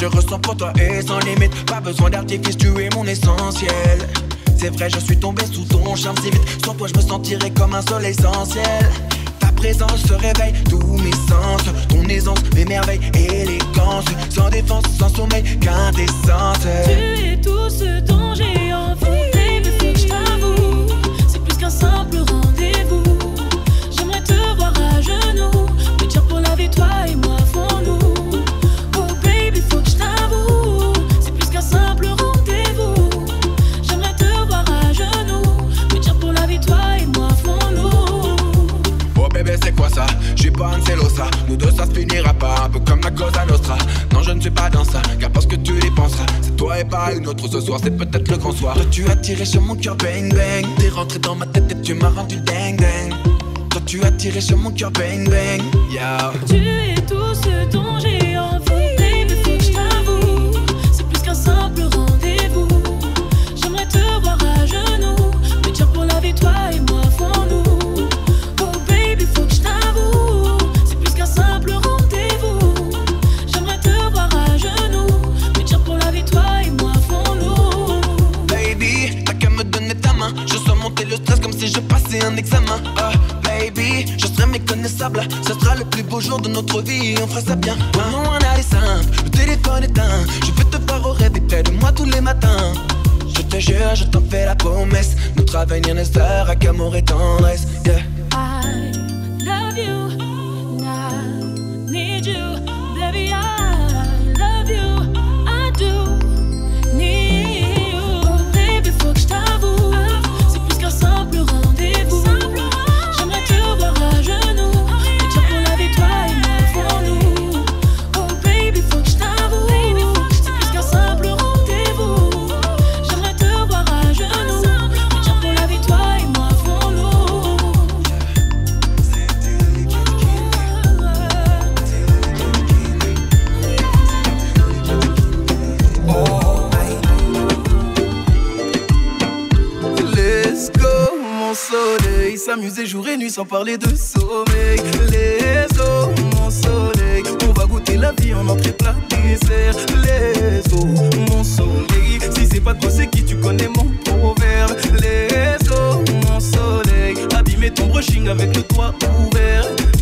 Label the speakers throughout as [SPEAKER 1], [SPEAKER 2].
[SPEAKER 1] ressens pour toi est sans limite. Pas besoin d'artifice, tu es mon essentiel. C'est vrai, je suis tombé sous ton charme si vite. Sans toi, je me sentirais comme un soleil essentiel. Ta présence se réveille tous mes sens. Ton aisance, mes merveilles, élégance. Sans défense, sans sommeil, quintessence.
[SPEAKER 2] Tu es tout ce dont j'ai envie. Baby, faut que je t'avoue, c'est plus qu'un simple rendez-vous. J'aimerais te voir à genoux, me dire pour la vie, toi et moi, fons-nous. Oh baby, faut que je t'avoue, c'est plus qu'un simple rendez-vous. J'aimerais te voir à genoux, me dire pour la vie, toi et moi, fons-nous.
[SPEAKER 1] Oh bébé, c'est quoi ça? J'suis pas un celosa. Nous deux ça se finira pas, un peu comme la Cosa Nostra. Non, je ne suis pas dans ça, car parce que tu dépenseras. C'est toi et pas une autre ce soir, c'est peut-être le grand soir. Toi tu as tiré sur mon cœur bang bang. T'es rentré dans ma tête et tu m'as rendu ding ding. Toi tu as tiré sur mon cœur bang bang. Yeah.
[SPEAKER 2] Tu es tout ce dont j'ai envie. Baby, faut que je t'avoue, c'est plus qu'un simple rendez-vous. J'aimerais te voir à genoux, me dire pour la vie, toi et moi, fons-nous. Oh baby, faut que je t'avoue, c'est plus qu'un simple rendez-vous. J'aimerais te voir à genoux, me dire pour la vie, toi et moi, fons-nous.
[SPEAKER 1] Baby, t'as qu'à me donner ta main. Je sens monter le stress comme si je passais un examen. Baby, je serai méconnaissable. Ce sera le plus beau jour de notre vie. On fera ça bien. Non, on a les simple. Le téléphone éteint. Je vais te voir au rêve et près de moi tous les matins. Je te jure, je t'en fais la promesse. Notre avenir ne sera qu'amour et tendresse. Yeah.
[SPEAKER 2] I love you, and I need you, baby. I love you, I do need you. Oh baby, faut que je t'avoue, c'est plus qu'un simple rendez-vous. J'aimerais te voir à genoux, me dire pour la vie, toi et moi, fons-nous. Oh baby, faut que je t'avoue, c'est plus qu'un simple rendez-vous. J'aimerais te voir à genoux, me dire pour la vie, toi et moi, fons-nous.
[SPEAKER 3] Let's go, mon soleil. S'amuser jour et nuit sans parler de sommeil. Let's go, mon soleil. On va goûter la vie en entrée plat dessert. Let's go, mon soleil. Si c'est pas toi, c'est qui? Tu connais mon proverbe. Let's go, mon soleil. Abîmer ton brushing avec le toit ouvert.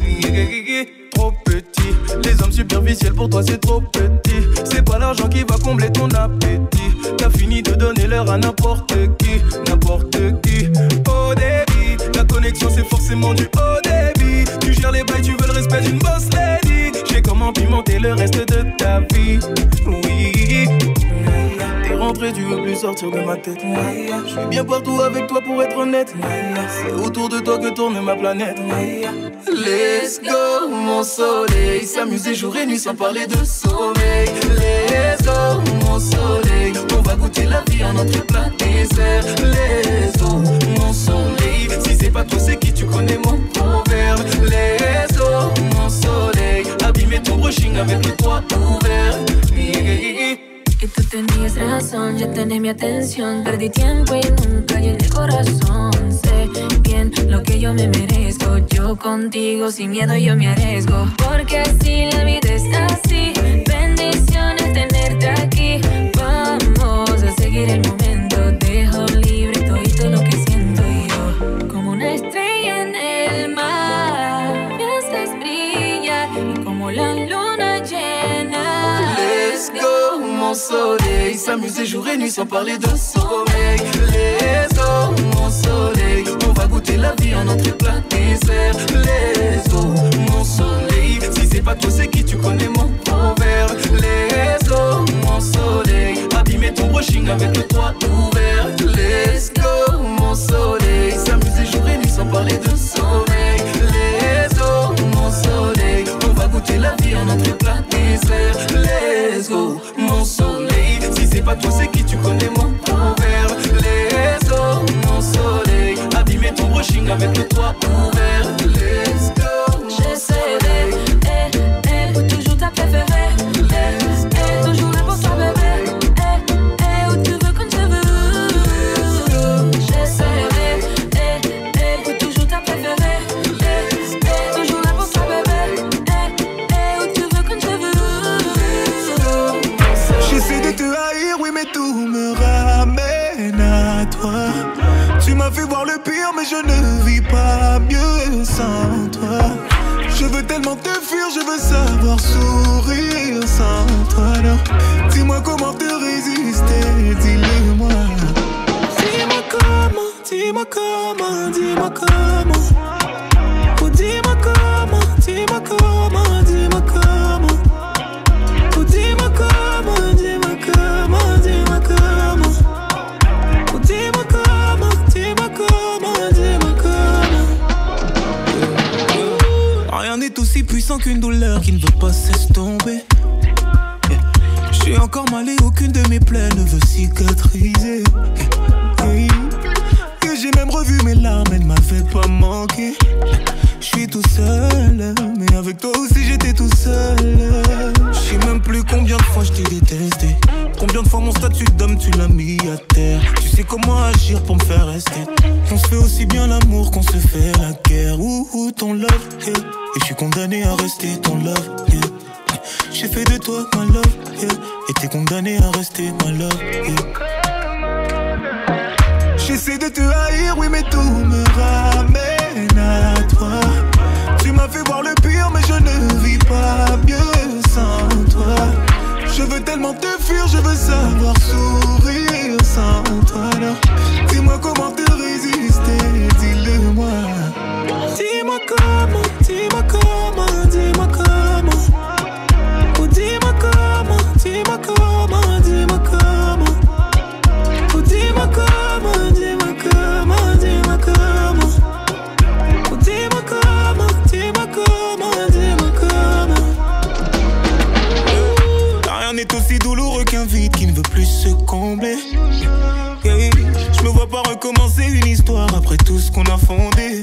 [SPEAKER 3] Trop petit, les hommes superficiels pour toi c'est trop petit. C'est pas l'argent qui va combler ton appétit. T'as fini de donner l'heure à n'importe qui, n'importe qui. Au débit, la connexion c'est forcément du haut débit. Tu gères les bails, tu veux le respect d'une boss lady. J'ai comment pimenter le reste de ta vie. Oui, t'es rentré, tu veux plus sortir de ma tête. Je suis bien partout avec toi pour être honnête. C'est autour de toi que tourne ma planète. Let's go, mon soleil. S'amuser jour et nuit sans parler de sommeil. Let's go, mon soleil. On va goûter la vie en entrée plat dessert. Let's go, mon soleil. Si c'est pas toi, c'est qui? Tu connais mon proverbe. Let's go, mon soleil. Abîmer ton brushing avec le toit ouvert.
[SPEAKER 2] Y tú tenías razón, ya tenés mi atención. Perdí tiempo y nunca llené el corazón. Sé bien lo que yo me merezco. Yo contigo sin miedo yo me arriesgo. Porque así la vida es así. Bendiciones tenerte aquí. Vamos a seguir el momento. Dejo libre todo lo que siento yo. Como una estrella en el mar, me haces brillar y como la luna llena.
[SPEAKER 3] Let's go, mon soleil. S'amuser jour et nuit sans parler de sommeil. Let's go, mon soleil. On va goûter la vie en entrée plat dessert. Let's go, mon soleil. Si c'est pas toi, c'est qui? Tu connais mon proverbe. Let's go, mon soleil. Abîmer ton brushing avec le toit ouvert. Let's go, mon soleil. S'amuser jour et nuit sans parler de sommeil. Let's go, mon soleil. On va goûter la vie en entrée plat dessert. Let's go, mon soleil. Si c'est pas toi, c'est qui? Tu connais mon proverbe. Let's go, mon soleil. Abîmer ton brushing avec le toit ouvert. Let's go, mon
[SPEAKER 2] Je serai toujours ta préférée. Toujours la
[SPEAKER 3] le pire, mais je ne vis pas mieux sans toi. Je veux tellement te fuir, je veux savoir sourire sans toi. Alors, dis-moi comment te résister, dis-le-moi. Dis-moi comment, dis-moi comment, dis-moi comment. Oh, dis-moi comment, dis-moi comment, dis-moi comment. Oh, dis-moi comment, dis-moi comment, dis-moi comment. Oh, dis-moi comment, dis-moi comment, dis-moi comment. Rien n'est aussi puissant qu'une douleur qui ne veut pas s'estomper. Je suis encore mal et aucune de mes plaies ne veut cicatriser. Et j'ai même revu mes larmes, elles ne m'avaient pas manqué. Je suis tout seul, mais avec toi aussi j'étais tout seul. Je sais même plus combien de fois je t'ai détesté. Combien de fois mon statut d'homme tu l'as mis à terre. Tu sais comment agir pour me faire rester. On se fait aussi bien l'amour qu'on se fait la guerre. Ouh, ton love, yeah. Et je suis condamné à rester ton love, yeah. J'ai fait de toi ma love, yeah. Et t'es condamné à rester ma love, yeah. J'essaie de te haïr, oui mais tout me ramène à toi. Tu m'as fait voir le pire, mais je ne vis pas mieux sans toi. Je veux tellement te fuir, je veux savoir sourire sans toi. Alors, dis-moi comment te résister, dis-le-moi. Dis-moi comment, dis-moi comment, dis-moi comment. Oh, dis-moi comment, dis-moi comment, dis-moi comment. Oh, dis-moi comment, dis-moi comment, dis-moi comment. Oh, dis-moi comment, dis-moi comment, dis-moi comment. Rien n'est aussi douloureux qu'un vide qui ne veut plus se combler. Je me vois pas recommencer une histoire après tout ce qu'on a fondé.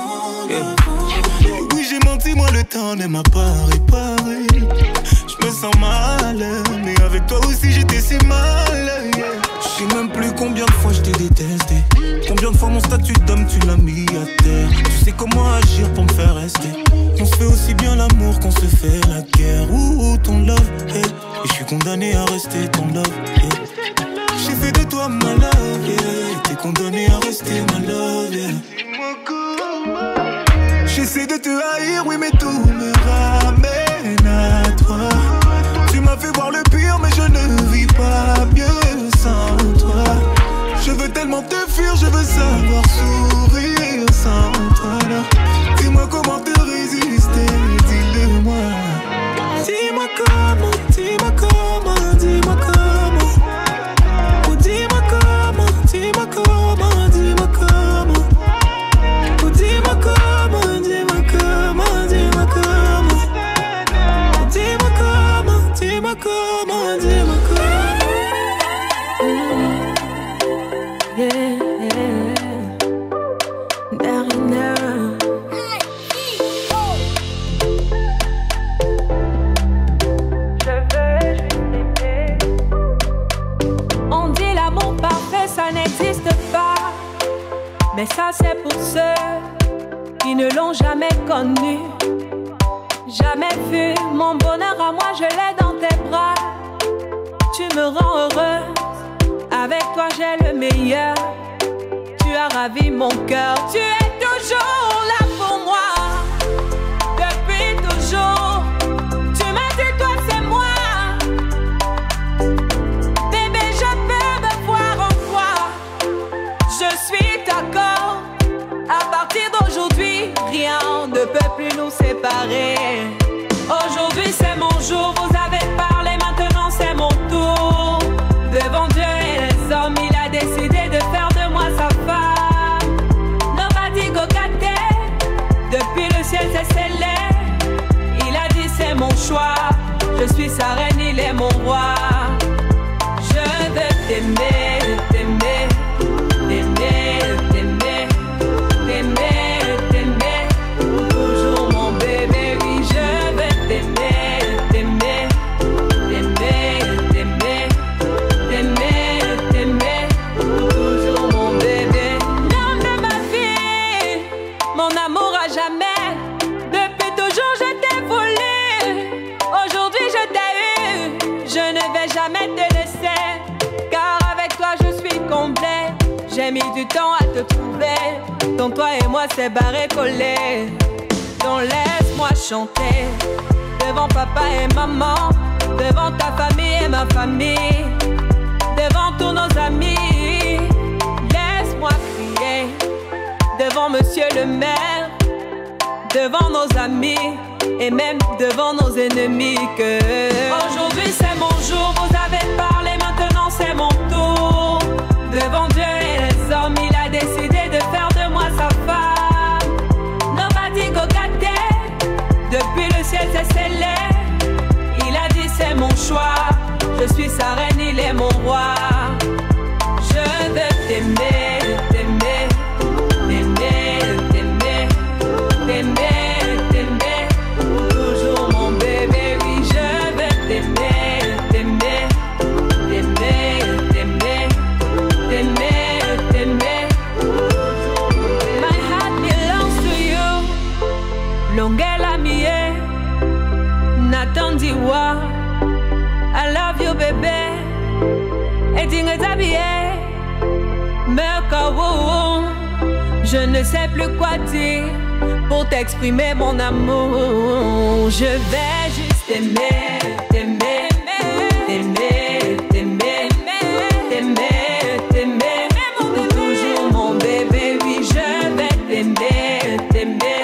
[SPEAKER 3] Oui, j'ai menti, moi le temps ne m'a pas réparé. Je me sens mal, mais avec toi aussi j'étais si mal. Je sais même plus combien de fois je t'ai détesté. Combien de fois mon statut d'homme tu l'as mis à terre. Tu sais comment agir pour me faire rester. On se fait aussi bien l'amour qu'on se fait la guerre. Ouh, ton love, hey. Et je suis condamné à rester ton love, hey. J'ai fait de toi ma love, yeah. T'es condamné à rester ma love, yeah. J'essaie de te haïr, oui mais tout me ramène à toi. Tu m'as fait voir le pire, mais je ne vis pas mieux sans toi. Je veux tellement te fuir, je veux savoir sourire sans toi. Alors, dis-moi comment te résister, dis-le-moi. Dis-moi comment, dis-moi comment, dis-moi comment. Oh, dis-moi comment, dis-moi comment, dis-moi comment. Oh, dis-moi comment, dis-moi comment, dis-moi comment. Oh, dis-moi comment, dis-moi comment, dis-moi comment.
[SPEAKER 2] Yeah, Darina. Je veux juste t'aimer. On dit l'amour parfait, ça n'existe pas. Mais ça c'est pour ceux qui ne l'ont jamais connu. Jamais vu mon bonheur à moi, je l'ai dans tes bras. Tu me rends heureuse. Avec toi j'ai le meilleur. Tu as ravi mon cœur. Tu es toujours là pour moi. Depuis toujours. Tu m'as dit toi c'est moi. Bébé je peux me voir en toi. Je suis d'accord. À partir d'aujourd'hui, rien ne peut plus nous séparer. Aujourd'hui c'est mon jour. Vous avez parlé, maintenant c'est mon tour. Devant Dieu et les hommes, il a décidé de faire de moi sa femme. Nobody go get it. Depuis le ciel c'est scellé. Il a dit c'est mon choix. Je suis sa reine, il est mon roi. Je veux t'aimer, t'aimer, t'aimer, t'aimer, t'aimer, t'aimer. Toujours mon bébé, oui je veux t'aimer, t'aimer, t'aimer, t'aimer. T'aimer, t'aimer, toujours mon bébé. L'homme de ma vie, mon amour à jamais. Depuis toujours je t'ai voulu. Aujourd'hui je t'ai eu. Je ne vais jamais te laisser. Car avec toi je suis complet.
[SPEAKER 4] J'ai mis du temps à te trouver. Donc toi et moi c'est barré collé. Donc laisse-moi chanter devant papa et maman, devant ta famille et ma famille, devant tous nos amis. Laisse-moi crier devant monsieur le maire, devant nos amis et même devant nos ennemis que aujourd'hui c'est mon jour, vous avez parlé, maintenant c'est mon tour. Devant Dieu et les hommes, il a décidé de faire de moi sa femme. Nobody go get there. Depuis le ciel c'est scellé. Il a dit c'est mon choix. Je suis sa reine, il est mon roi. Je veux t'aimer, t'aimer, t'aimer, t'aimer, t'aimer, t'aimer. Toujours mon bébé, oui, je veux t'aimer, t'aimer, t'aimer, t'aimer, t'aimer, t'aimer. My heart belongs to you. Longela mie, Nathan Diwa. I love you, bébé. Et dingue t'habiller. Je ne sais plus quoi dire pour t'exprimer mon amour. Je vais juste t'aimer, t'aimer, t'aimer, t'aimer, t'aimer, t'aimer. Pour toujours mon bébé, oui, je vais t'aimer, t'aimer.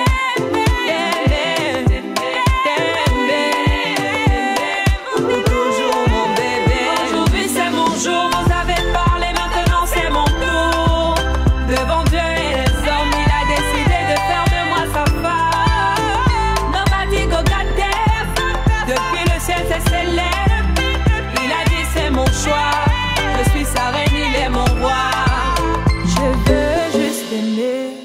[SPEAKER 4] Je suis sa reine, il est mon roi. Je veux juste aimer.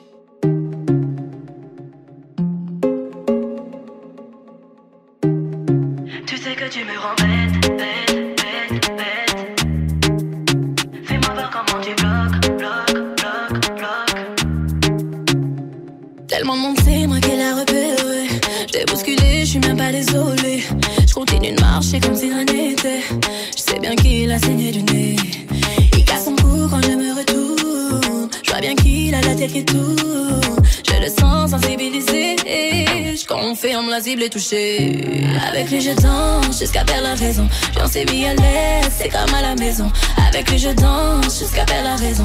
[SPEAKER 5] Tu sais que tu me rends bête, bête, bête, bête. Fais-moi voir comment tu bloques, bloques, bloques, bloques. Tellement de monde sait, moi qu'elle a repéré. J't'ai bousculé, j'suis même pas désolé. J'continue de marcher comme si rien n'était. J'sais bien qu'il a saigné du nez. Il casse son cou quand je me retourne. J'vois bien qu'il a la tête qui tourne. Je le sens sensibilisé. J'confirme la cible est touchée. Avec lui je danse jusqu'à perdre la raison. J'en sais mis à l'aise, c'est comme à la maison. Avec lui je danse jusqu'à perdre la raison.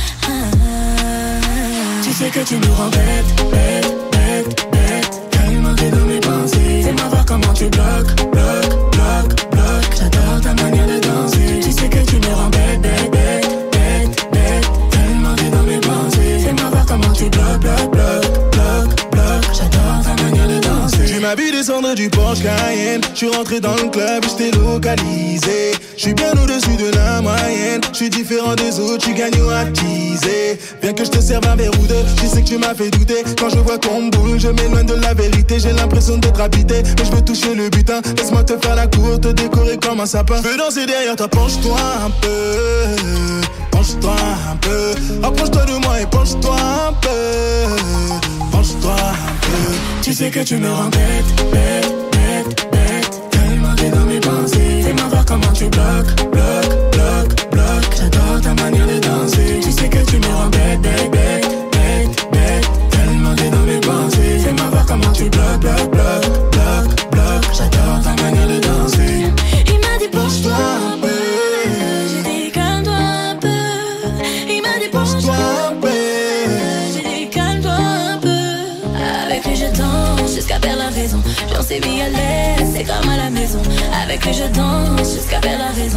[SPEAKER 5] Tu sais que tu me rends bête, bête, bête, bête. Tellement t'es dans mes pensées. Fais-moi voir comment tu bloques, bloques, bloques, bloques. J'adore ta manière de danser. Tu sais que tu me rends bête, bête, bête, bête, bête. Tellement t'es dans mes pensées. Fais-moi voir comment tu bloques, bloques, bloques, bloques, bloques. J'adore ta manière de danser.
[SPEAKER 3] Tu m'as vu descendre du Porsche Cayenne. J'suis rentré dans le club, j't'ai localisé. J'suis bien au-dessus de la moyenne. J'suis différent des autres, j'suis gagnant à teaser. Bien que j'te serve un verre ou deux, je sais que tu m'as fait douter. Quand je vois qu'on boule, je m'éloigne de la vérité. J'ai l'impression d'être habité, mais je veux toucher le butin. Laisse-moi te faire la cour, te décorer comme un sapin. Je veux danser derrière toi, penche-toi un peu. Penche-toi un peu. Approche-toi de moi et penche-toi un peu. Penche-toi un peu.
[SPEAKER 5] Tu sais que tu me rends bête, bête, bête, bête. Tellement t'es dans mes pensées. Fais-moi voir comment tu bloques, bloques, bloques, bloques. J'adore ta manière de danser. Tu sais que tu me rends bête, bête, bête, bête, bête. Tellement t'es dans mes pensées. Fais-moi voir comment tu bloques, bloques, bloques, bloques, bloques. J'adore ta manière de danser. Il m'a dit penche-toi un peu. J'ai dit calme-toi un peu. Il m'a dit penche-toi un peu. J'ai dit calme-toi un peu. Avec lui je danse jusqu'à perdre la raison. J'en sais mis à l'aise, c'est comme à la maison. Avec lui je danse jusqu'à perdre la raison.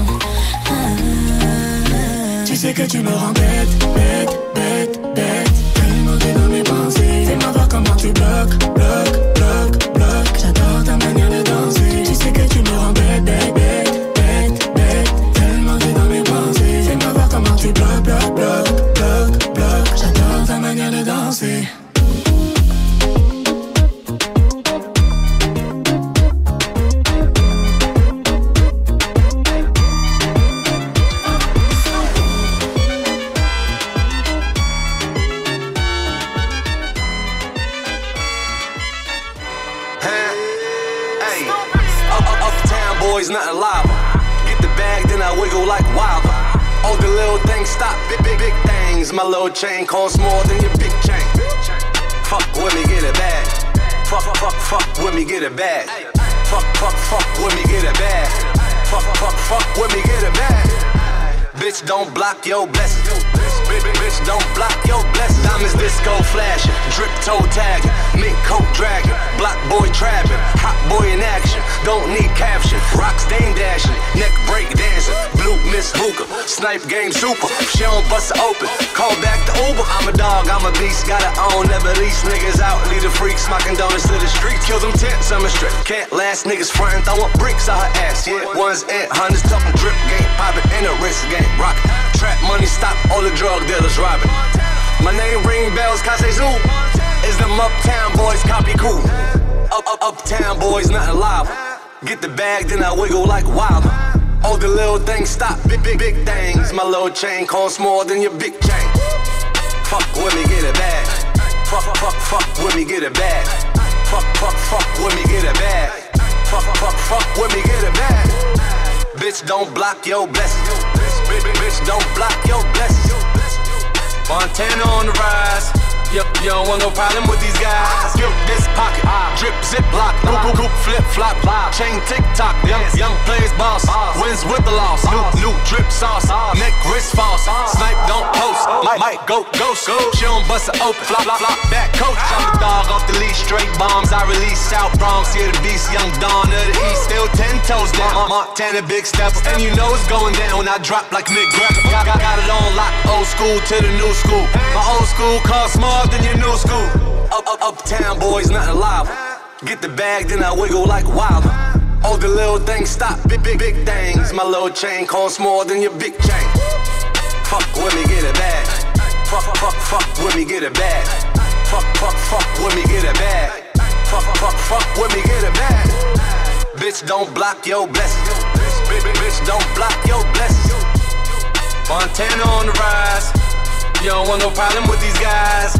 [SPEAKER 5] Tu sais que tu me rends bête, bête, bête, bête. Tellement t'es dans mes pensées. Fais-moi voir comment tu bloques, bloques, bloques, bloques. J'adore ta manière de danser. Tu sais que tu me rends bête, bête, bête, bête, bête. Tellement t'es dans mes pensées. Fais-moi voir comment tu bloques, bloques, bloques, bloques, bloques. J'adore ta manière de danser.
[SPEAKER 6] little things stop, big things. My little chain costs more than your big chain. Fuck with me, get it bag. Fuck with me, get it bag. Fuck with me, get it bag. Fuck with me, get it bag. Bitch, don't block your blessings. Bitch, don't block your blessings. Diamonds disco flashing, drip toe tagging, mink coat dragging, block boy trapping, hot boy in action. Don't need caption. Rocks dame dashing, neck break dancing, blue miss hookah, snipe game super. She don't bust it open, call back the Uber. I'm a dog, I'm a beast, gotta own. Never lease niggas out, lead a freak, smocking donuts to the streets. Kill them tents, I'm a strip. Can't last niggas frontin', throwin' bricks on her ass. Yeah, ones and hundreds, talking drip game, poppin' in a wrist game, rockin'. Trap money, stop all the drug dealers robbing. My name ring bells, Kase Zoo. Is them uptown boys copy cool? Uptown boys, nothing live. Get the bag, then I wiggle like wild. All the little things stop, big things. My little chain costs more than your big chain. Fuck with me, get it bag. Fuck with me, get it bag. Fuck with me, get it bag. Fuck with me, get it bag. Bitch, don't block your blessings. Bitch, don't block your blessings. Montana on the rise. You don't want no problem with these guys. Skip this pocket, drip, zip lock, goop, flip, flop, chain tick-tock. Young plays boss, wins with the loss. New drip sauce, neck, wrist false. Snipe, don't post, might go ghost. She don't bust it open, flop, back coach. I'm the dog off the leash, straight bombs. I release South Bronx, here the beast, young Dawn of the East. Still 10 toes down, Montana big steps. And you know it's going down when I drop like Mick Greco. Got it on lock, old school to the new school. My old school costs more than your new school. Uptown boys, nothing live. Get the bag, then I wiggle like wild. All the little things stop, big things. My little chain costs more than your big chain. Fuck with me, get it bag. Fuck with me, get it bag. Fuck with me, get it bag. Fuck with me, get it bag. Bitch, don't block your blessings. Bitch, don't block your blessings. Montana on the rise. You don't want no problem with these guys.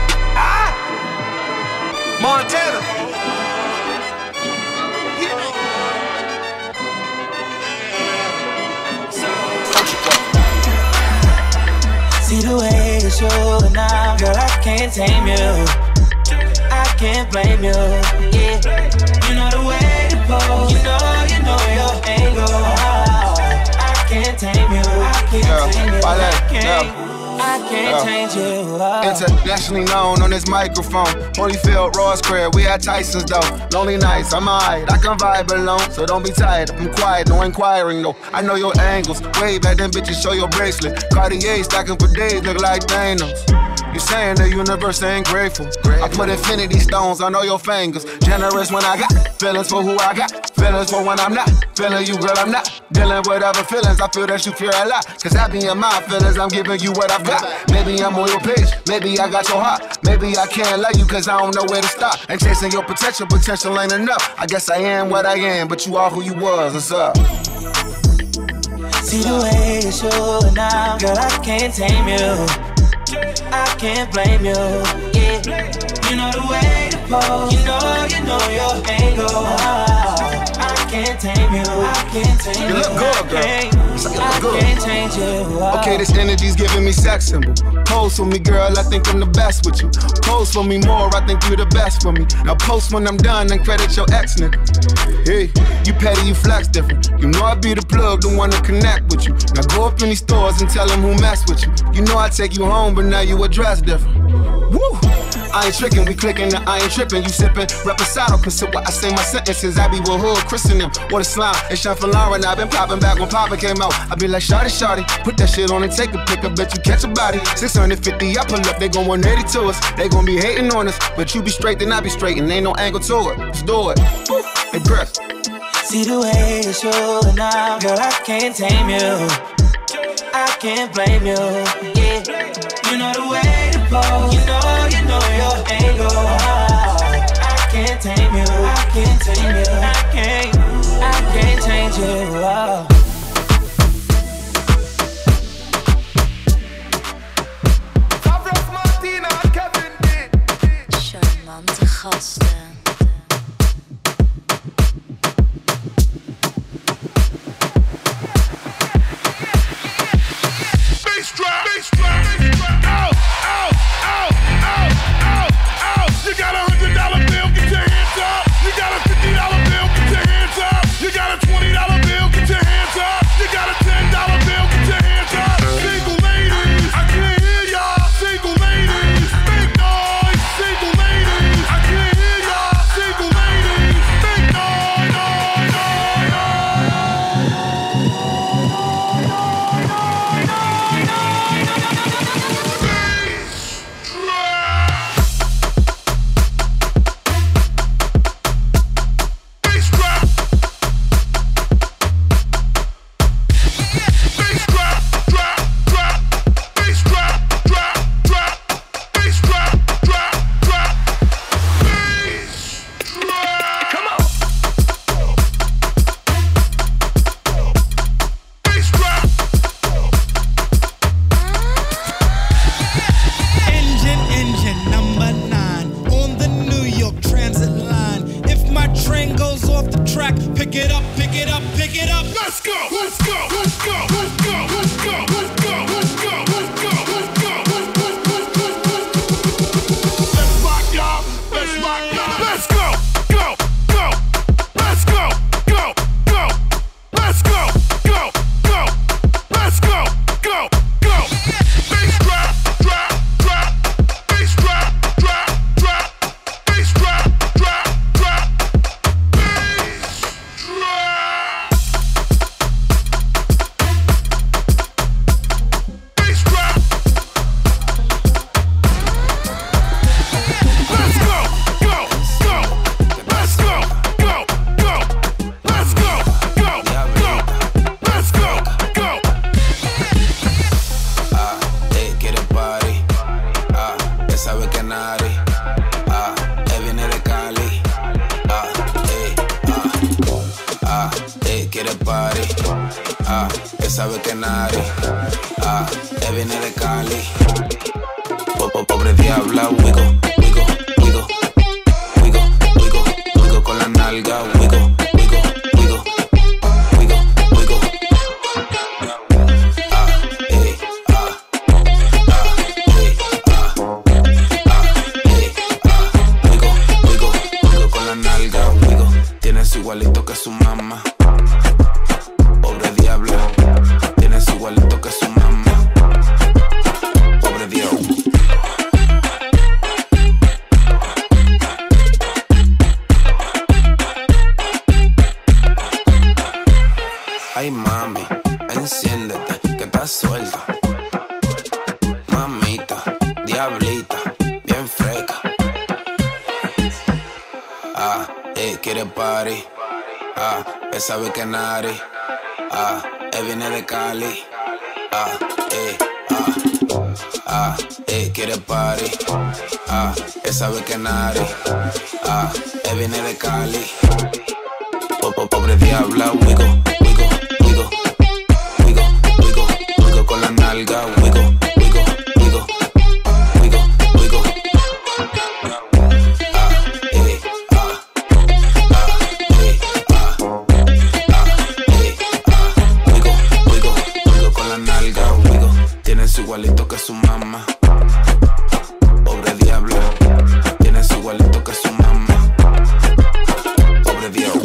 [SPEAKER 6] Montana.
[SPEAKER 7] See the way you're showing now, girl, I can't tame you. I can't blame you, yeah. You know the way to pose, you know your angle. I can't tame you, I can't tame you, I can't change you.
[SPEAKER 8] Internationally known on this microphone. Holyfield, Ross Craig, we at Tyson's though. Lonely nights, I'm alright, I can vibe alone. So don't be tired, I'm quiet, no inquiring though. I know your angles, wave at them bitches, show your bracelet. Cartier stacking for days, look like Thanos. You saying the universe ain't grateful. I put infinity stones on all your fingers. Generous when I got feelings for who I got. Feelings for when I'm not feeling you, girl, I'm not dealing with other feelings. I feel that you fear a lot. Cause I be in my feelings, I'm giving you what I've got. Maybe I'm on your page, maybe I got your heart. Maybe I can't love you cause I don't know where to stop. And chasing your potential ain't enough. I guess I am what I am, but you are who you was, what's up?
[SPEAKER 7] See the way you're showing now, girl, I can't tame you. I can't blame you, yeah. You know the way to pose, you know your angle. I can't tame you, I can't tame you.
[SPEAKER 8] You look good, girl.
[SPEAKER 7] I can't change you.
[SPEAKER 8] Okay, this energy's giving me sex symbol. Pose for me, girl, I think I'm the best with you. Pose for me more, I think you're the best for me. Now post when I'm done and credit your ex, nigga. Hey, you petty, you flex different. You know I be the plug, the one to connect with you. Now go up in these stores and tell them who mess with you. You know I take you home, but now you address different. Woo! I ain't tricking, we clicking, I ain't tripping. You sipping, reposado, consider what I say my sentences. I be with hood, christen them, what a slime. It's Sean for Lauren, I been popping back when Papa came out. I be like, shawty, put that shit on and take a pic. I bet you catch a body. 650, I pull up, they gon' 180 to us. They gon' be hating on us, but you be straight, then I be straight, and ain't no angle to it. Let's do it. Woo. Hey, Chris.
[SPEAKER 7] See the way you're showing now, girl, I can't tame you. I can't blame you, yeah. You know the way to pose, you know your angle. I can't tame you, I can't tame you, I can't change you.
[SPEAKER 2] Charmante gasten.
[SPEAKER 9] sabe que nadie, él viene de Cali. Pobre diabla, wigo, wigo, wigo, wigo, wigo, wigo con la nalga, wigo, wigo, wigo, wigo, wigo. Wigo, wigo con la nalga, wigo. Tienes igualito que su mamá. Pobre diabla, tienes igualito que su mamá. Pobre diablo. Ay mami, enciéndete, que estás suelta. Mamita, diablita, bien fresca. Quiere party. Él sabe que nari. Él viene de Cali. Quiere party. Él sabe que nari. Él viene de Cali. Pobre diabla, wigo, wigo, wigo, wigo, wigo, wigo con la nalga, wigo, wigo, wigo, wigo, wigo. Wigo, wigo, wigo con la nalga, wigo. Tienes igualito que su mamá. Pobre diabla, tienes igualito que su mamá. Pobre diablo.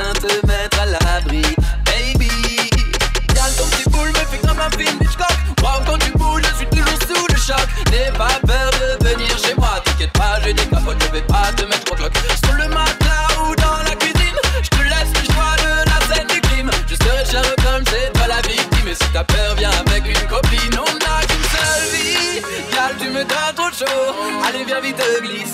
[SPEAKER 1] Watch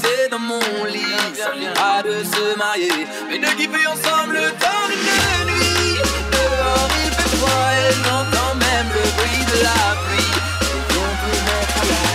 [SPEAKER 1] glisser dans mon lit. Ça n'ira de se marier, mais de kiffer ensemble le temps d'une nuit. Dehors il fait froid et j'entends même le bruit de la pluie. Et on peut mettre à la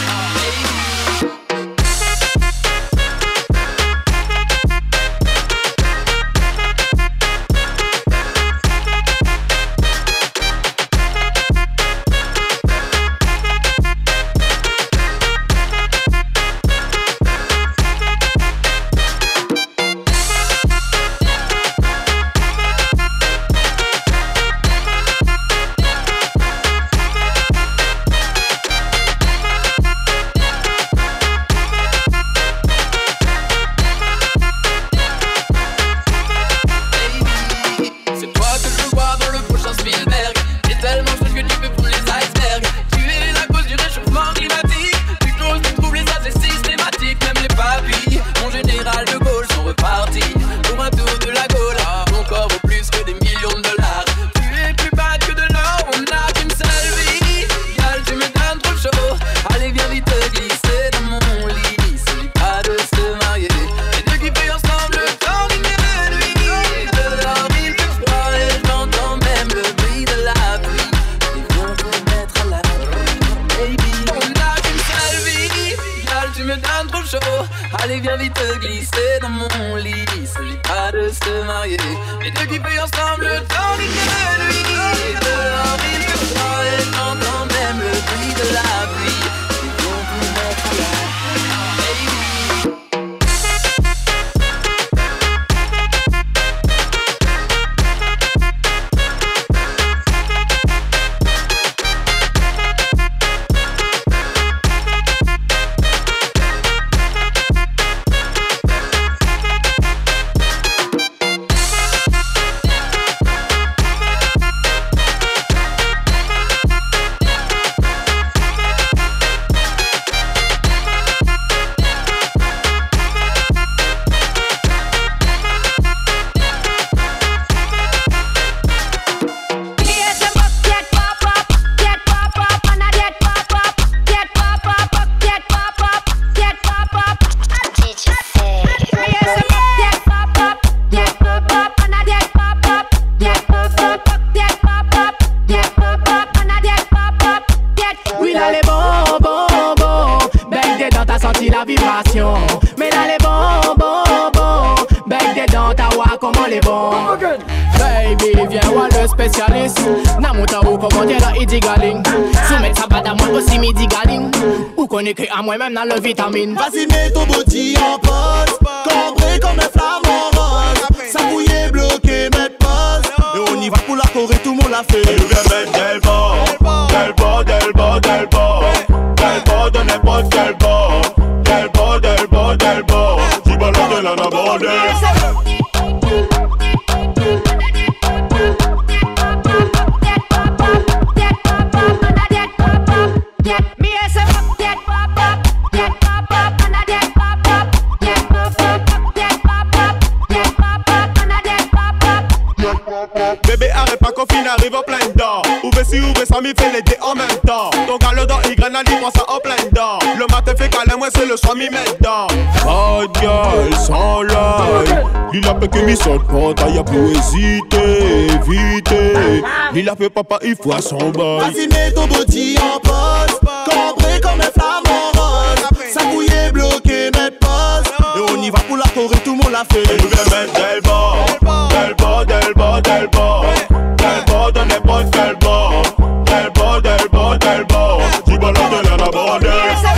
[SPEAKER 1] allez viens vite te glisser dans mon lit. Celui pas de se marier, mais de kiffer ensemble le temps d'une nuit. Dehors il fait froid et j'entends même le bruit de la pluie. Ils vont vous mettre à la
[SPEAKER 10] mais là les bon, bec des dents, ta wa comment les bons. Baby, viens voir le spécialiste. Namouta ou comment dire la idigaling. Soumettre sa bad à moi aussi midi galing. Ou connaît que à moi-même dans le vitamine.
[SPEAKER 11] Vas-y mets ton body en pause. Cambré comme un flamant rose. Ça bouillait bloqué, mettre pause. Et on y va pour la Corée, tout le monde l'a fait.
[SPEAKER 12] Et nous viens mettre Delbo de n'importe quel bord. Delbo, tu balances de la naborde.
[SPEAKER 13] Bébé arrête pas qu'on finit arrive en plein dedans. Ouvre si ouvre ça m'y fait les deux en même temps. Ton gars le dans Y grenade il prend ça en plein dedans. Le matin fait câlin moi c'est le soir m'y met dedans.
[SPEAKER 12] Bad girl sans lie. Il a fait que m'y saute quand y'a pour hésiter, éviter. Il a fait papa il faut à son bail.
[SPEAKER 11] Vas-y mets ton body en pause. Cambré comme un flamant rose. Ça bouillait bloqué, mettre pause. Et on y va pour la Corée, tout le monde l'a fait.
[SPEAKER 12] Et nous viens mettre Delbo de n'importe quel bord. Delbo, tu balances de la naborde.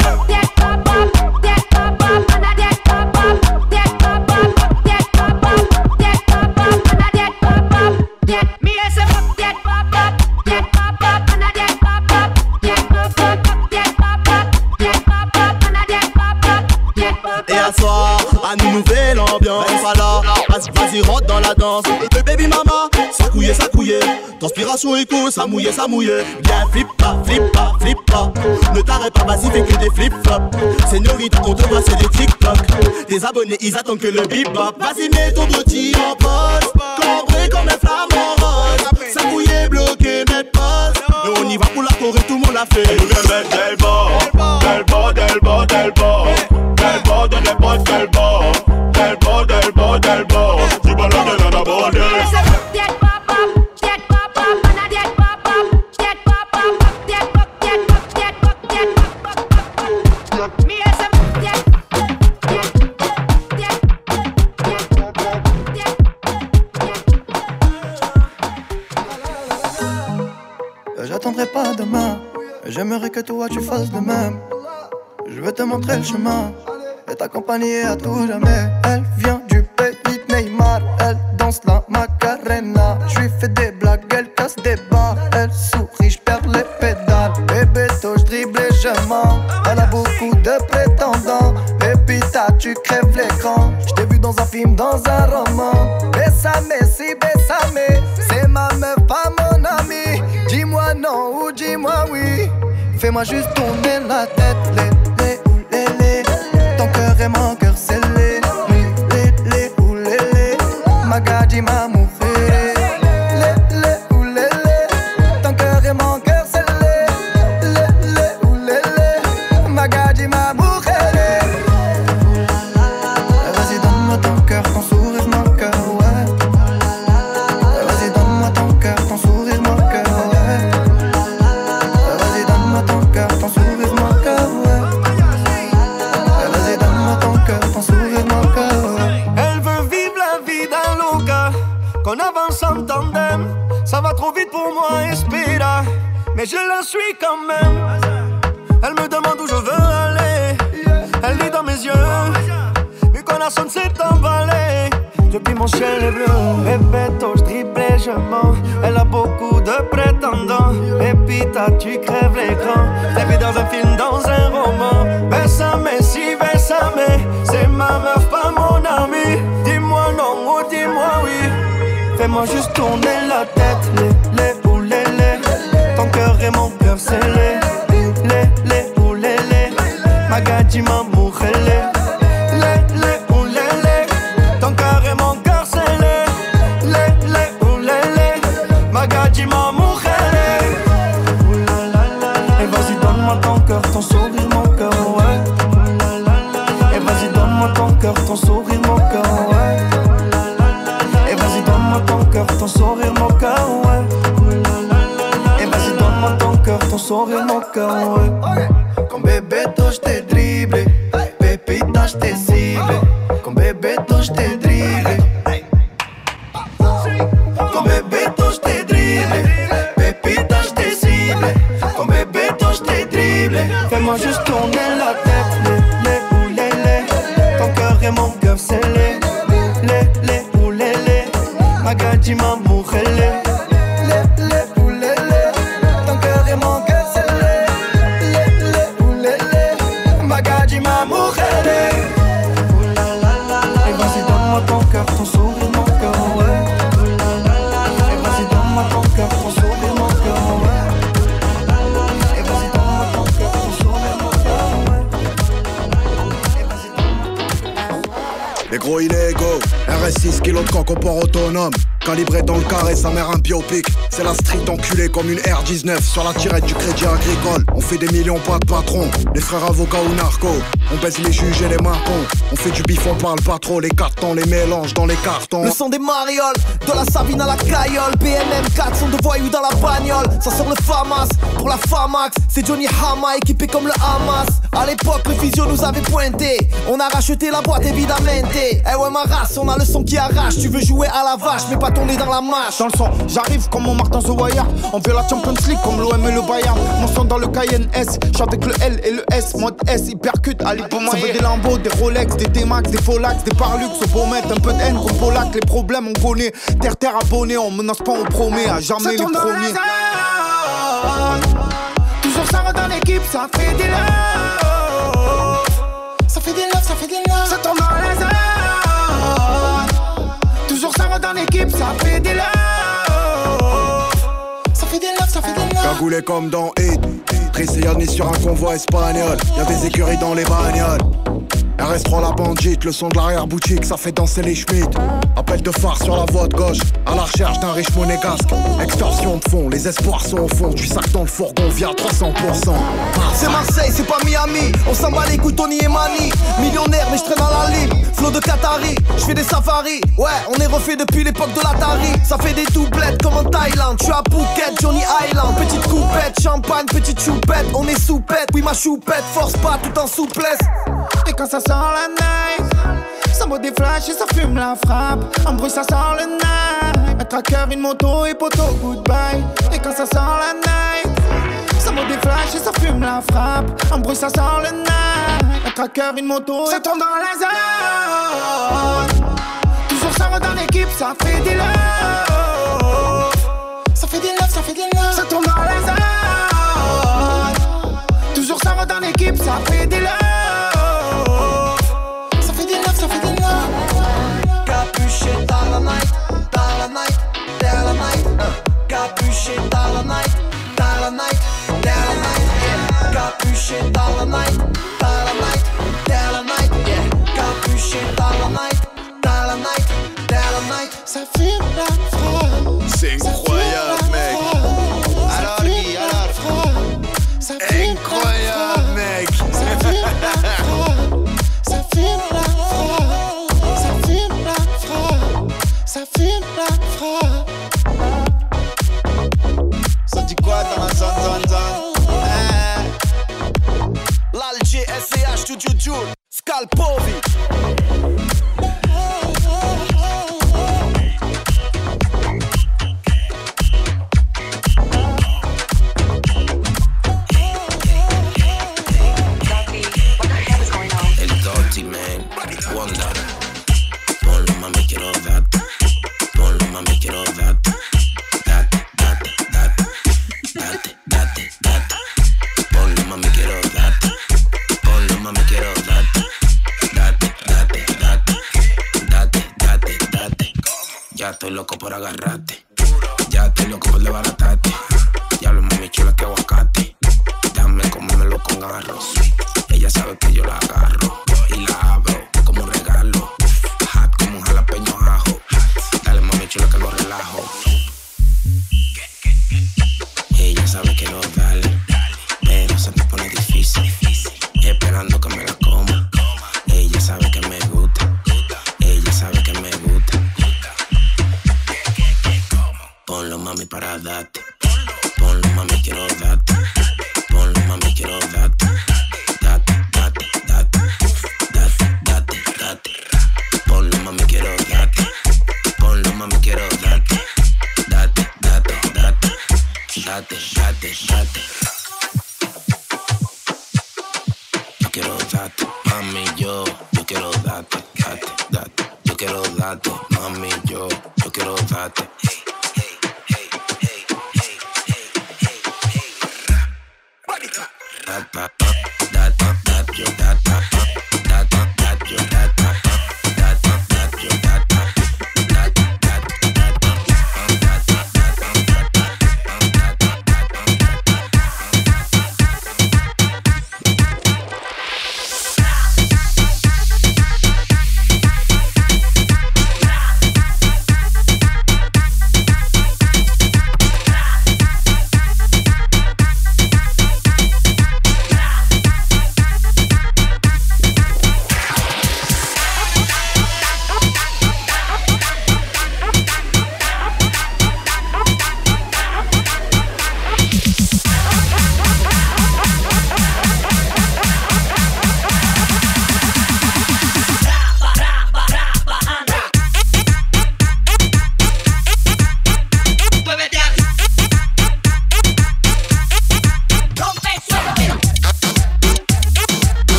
[SPEAKER 11] Et à soir, à nous nouvelle ambiance. Voilà, vas-y rentre dans la danse. Le baby mama, ça couillait. Transpiration écho, ça mouillait. Viens flip pas. Ne t'arrête pas, vas-y fais que des flip-flops. Señorita, on te voit c'est des TikTok. Tes abonnés ils attendent que le bebop. Vas-y mets ton body en pause. Cambré comme un flamant rose. Ça couillait bloqué, mettre pause. Et on y va pour la Corée, tout le monde l'a fait.
[SPEAKER 12] Et nous viens mettre Delbo de n'importe bot, del bot. Del bot, del bot, del bot. Tu ballades dans la bordée.
[SPEAKER 3] J'attendrai pas demain, j'aimerais que toi tu fasses de même. Je veux te montrer le chemin et t'accompagner à tout jamais. Elle vient du pays de Neymar, elle danse la Macarena. Je lui fais des blagues, elle casse des barres. Elle sourit, je perds les pédales. Bébé, je dribble et je mens. Elle a beaucoup de prétendants. Et puis tu crèves l'écran. Je t'ai vu dans un film, dans un roman. Bésame, si bésame. C'est ma meuf, pas mon ami. Dis-moi non ou dis-moi oui. Fais-moi juste tourner la tête. Lé, lé, lé. Ton cœur et mon cœur scellé. Lé, lé, ou lé, lé. Magadji ma mujer. Lé, lé, ou lé, lé. Ton cœur et mon cœur scellé. Lé, lé, ou lé, lé. Magadji ma mujer. Vas-y donne-moi ton cœur, ton sourire, mon cœur, ouais. Vas-y donne-moi ton cœur, ton sourire, mon cœur, ouais. Vas-y donne-moi ton cœur, ton sourire, mon cœur, ouais. Vas-y donne-moi ton cœur, ton sourire, mon cœur, ouais.
[SPEAKER 14] Elle veut vivre la vie d'un loca, qu'on avance en tandem. Ça va trop vite pour moi, espéra, mais je la suis quand même. Elle me demande où je veux aller. Elle lit dans mes yeux, mi corazón s'est emballé. Depuis mon ciel est bleu, Bebeto, je dribble et je mens. Elle a beaucoup de prétendants. Et puis tu crèves l'écran. T'es vu dans un film, dans un roman. Bésame, si bésame. C'est ma meuf, pas mon ami. Dis-moi non ou dis-moi oui. Fais-moi juste tourner la tête. Les ou les. Ton cœur et mon cœur scellé. Les ou les. Magadji ma mujer. Les ou les. Ton cœur et mon cœur scellé. Les ou les. Magadji ma mujer. Et vas-y donne-moi ton cœur, ton sourire, mon cœur, ouais. Et vas-y donne-moi ton cœur, ton sourire, mon cœur, ouais. Et vas-y donne-moi ton cœur, ton sourire, mon cœur, ouais. Et vas-y donne-moi ton cœur, ton sourire, mon cœur, ouais.
[SPEAKER 3] Con Bebeto je t'ai dribblé, Pépita je t'ai ciblé. Con Bebeto je t'ai dribblé. Con Bebeto je t'ai dribblé, Pépita je t'ai ciblé. Con Bebeto je t'ai dribblé.
[SPEAKER 14] Fais-moi juste tourner la tête. Les ou les. Ton cœur et mon cœur scellé. Les ou les. Magadji ma mujer.
[SPEAKER 3] Les ou les. Ton cœur et mon cœur scellé. Les ou les. Magadji ma mujer.
[SPEAKER 14] Et vas-y donne-moi ton cœur, ton sourire, mon cœur, ouais. Et vas-y donne-moi ton cœur, ton sourire, mon cœur, ouais. Et vas-y donne-moi ton cœur, ton sourire, mon cœur, ouais.
[SPEAKER 11] Les gros illégaux, RS6 kilos de coq au port autonome. Calibré dans le carré, sa mère un biopic. C'est la street enculée comme une R19 sur la tirette du crédit agricole. On fait des millions, pas de patron. Les frères avocats ou narcos. On baisse les juges et les marcons. On fait du bif, on parle pas trop. Les cartons, les mélanges dans les cartons.
[SPEAKER 15] Le son des marioles, de la Sabine à la Caillole. BNM 4 sont de voyous dans la bagnole. Ça sort le FAMAS, pour la FAMAX. C'est Johnny Hama équipé comme le Hamas. À l'époque le physio nous avait pointé. On a racheté la boîte évidemment. Eh ouais ma race, on a le son qui arrache. Tu veux jouer à la vache mais pas tourner dans la mâche.
[SPEAKER 16] Dans le son, j'arrive comme mon Martin The Wire. On veut la Champions League comme l'OM et le Bayern. Mon son dans le Cayenne S, j'suis avec le L et le S. Mode S, hypercute, allez pour moi. Ça veut des Lambo, des Rolex, des T-Max, des Folax, des Parlux. Au beau mettre un peu de haine comme Polac. Les problèmes on connaît, terre abonné. On menace pas, on promet à jamais les premiers.
[SPEAKER 17] Toujours ça va dans l'équipe, ça fait des love. Ça fait des love, ça fait des love. Ça tombe dans la zone. Toujours ça va dans l'équipe, ça fait des love. Ça fait des love, ça fait des love.
[SPEAKER 11] Cagoulé comme dans Hit. Prisonnier sur un convoi espagnol. Y'a des écuries dans les bagnoles.
[SPEAKER 8] RS3 la bandite, le son de l'arrière-boutique, ça fait danser les Schmitt. Appel de phare sur la voie de gauche, à la recherche d'un riche monégasque. Extorsion de fond, les espoirs sont au fond. Du sac dans le fourgon, via 300%.
[SPEAKER 15] C'est Marseille, c'est pas Miami. On s'en bat les couilles, Tony et Mani. Millionnaire, mais je traîne dans la libre. Flow de Qatari, je fais des safaris. Ouais, on est refait depuis l'époque de l'Atari. Ça fait des doublettes comme en Thaïlande. Je suis à Phuket, Johnny Island. Petite coupette, champagne, petite choupette. On est soupette, oui ma choupette. Force pas tout en souplesse.
[SPEAKER 17] Et quand ça sort la night, ça vaut des flashs et ça fume la frappe. En bruit ça sort le night. Un tracker, une moto et poteau, goodbye. Et quand ça sort la night, ça vaut des flashs et ça fume la frappe. En bruit ça sort le night. Un tracker, une moto, ça tombe dans la zone. Toujours ça va dans l'équipe, ça fait des love. Ça fait des love, ça fait des love. Ça tombe dans la zone. Toujours ça va dans l'équipe, ça fait des love.
[SPEAKER 15] Capuché dans la night, dans la night, dans la night. Capuché dans la night, dans la night, dans la night. Yeah. Capuché dans la night, dans la night, dans la night. Yeah. Capuché dans la night, dans la night, dans la night.
[SPEAKER 17] Ça fume la frappe.
[SPEAKER 11] C'est incroyable, mec. Alors, Guy, alors. Incroyable, mec.
[SPEAKER 17] Ça fume la frappe. Ça fume la frappe. Ça fume la frappe.
[SPEAKER 11] Ça dit quoi dans la zone?
[SPEAKER 15] L'Alger, SCH, Studio, Scalpovi.
[SPEAKER 9] El Doty, man, Wonder. Ponlo, mami, quiero darte. Ponlo, mami, quiero darte. Date, date, date. Date, date, date. Ponlo, mami, quiero darte. Ponlo, mami, quiero darte. Date, date, date. Date, date, date. Ya estoy loco por agarrarte. Ya estoy loco por desbaratarte. Ya lo mami chula que aguacate. Dame comérmelo con arroz. Ella sabe que yo la agarro y la abro como un regalo. Hot como un jalapeño ajo. Dale mami chula que lo relajo. Ella sabe que no dale, pero se te pone difícil. Esperando que me la coma. Ella sabe que me gusta. Ella sabe que me gusta. Ponlo mami para darte. Ponlo mami quiero darte. Ponlo mami quiero darte. Date, date, date. Date, date, date. Ponlo mami quiero darte. Ponlo mami quiero darte. Date, date, date. Date, date, date. Yo quiero darte, mami, yo quiero darte, date, date. Yo quiero darte, mami, yo quiero darte.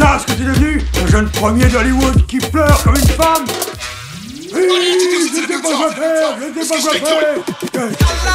[SPEAKER 18] ça ce que t'es devenu? Un jeune premier d'Hollywood qui pleure comme une femme? Oui, je sais pas quoi faire, je sais pas quoi faire.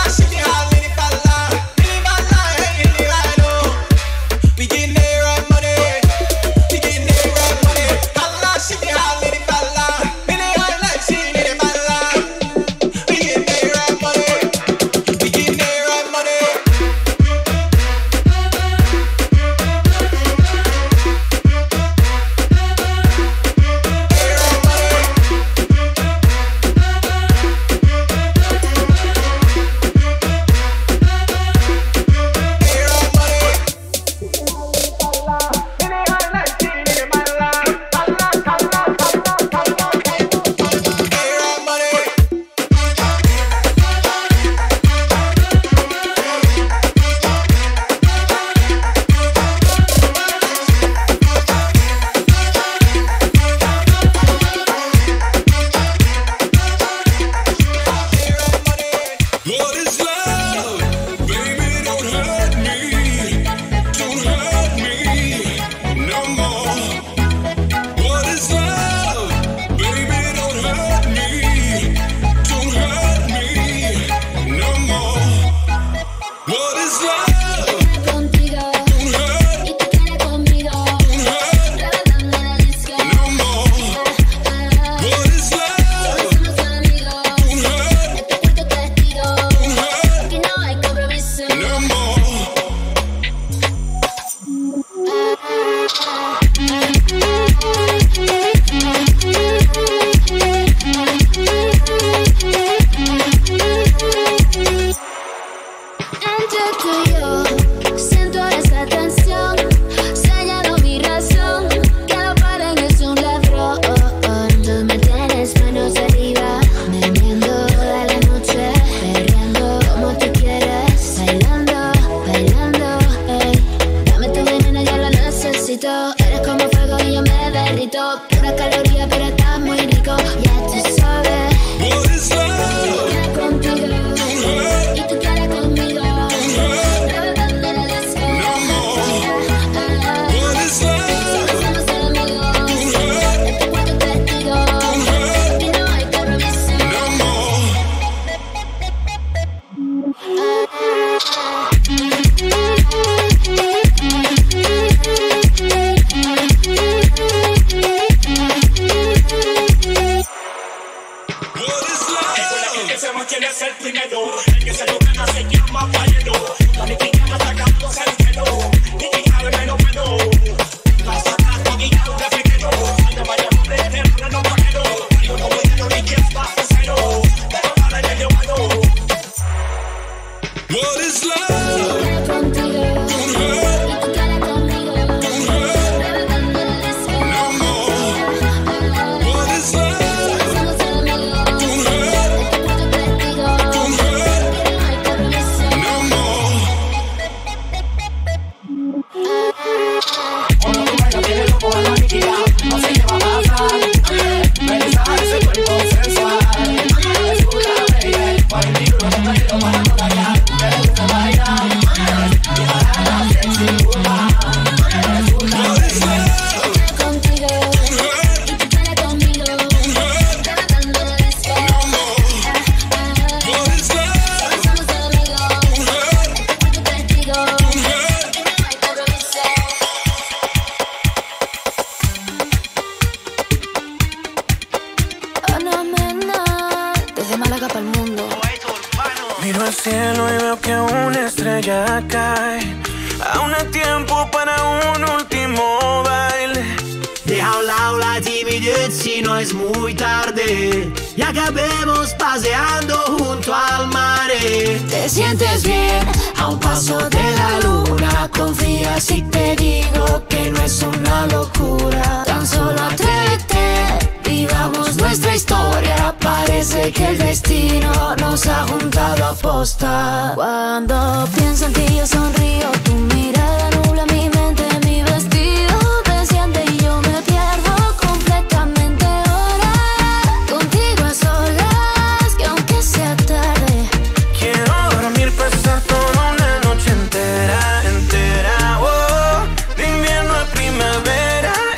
[SPEAKER 19] Miro al cielo y veo que una estrella cae. Aún hay tiempo para un último baile.
[SPEAKER 20] Deja a un lado la timidez si no es muy tarde y acabemos paseando junto al mar.
[SPEAKER 2] Te sientes bien a un paso de la luna. Confía si te digo que no es una locura. Tan solo atrévete, vivamos nuestra historia. Parece que el destino nos ha juntado a posta. Cuando pienso en ti yo sonrío, tu mirada nubla mi mente, mi vestido desciende y yo me pierdo completamente ahora. Contigo a solas, que aunque sea tarde,
[SPEAKER 19] quiero dormir, pasar toda una noche entera, entera, oh, de invierno a primavera.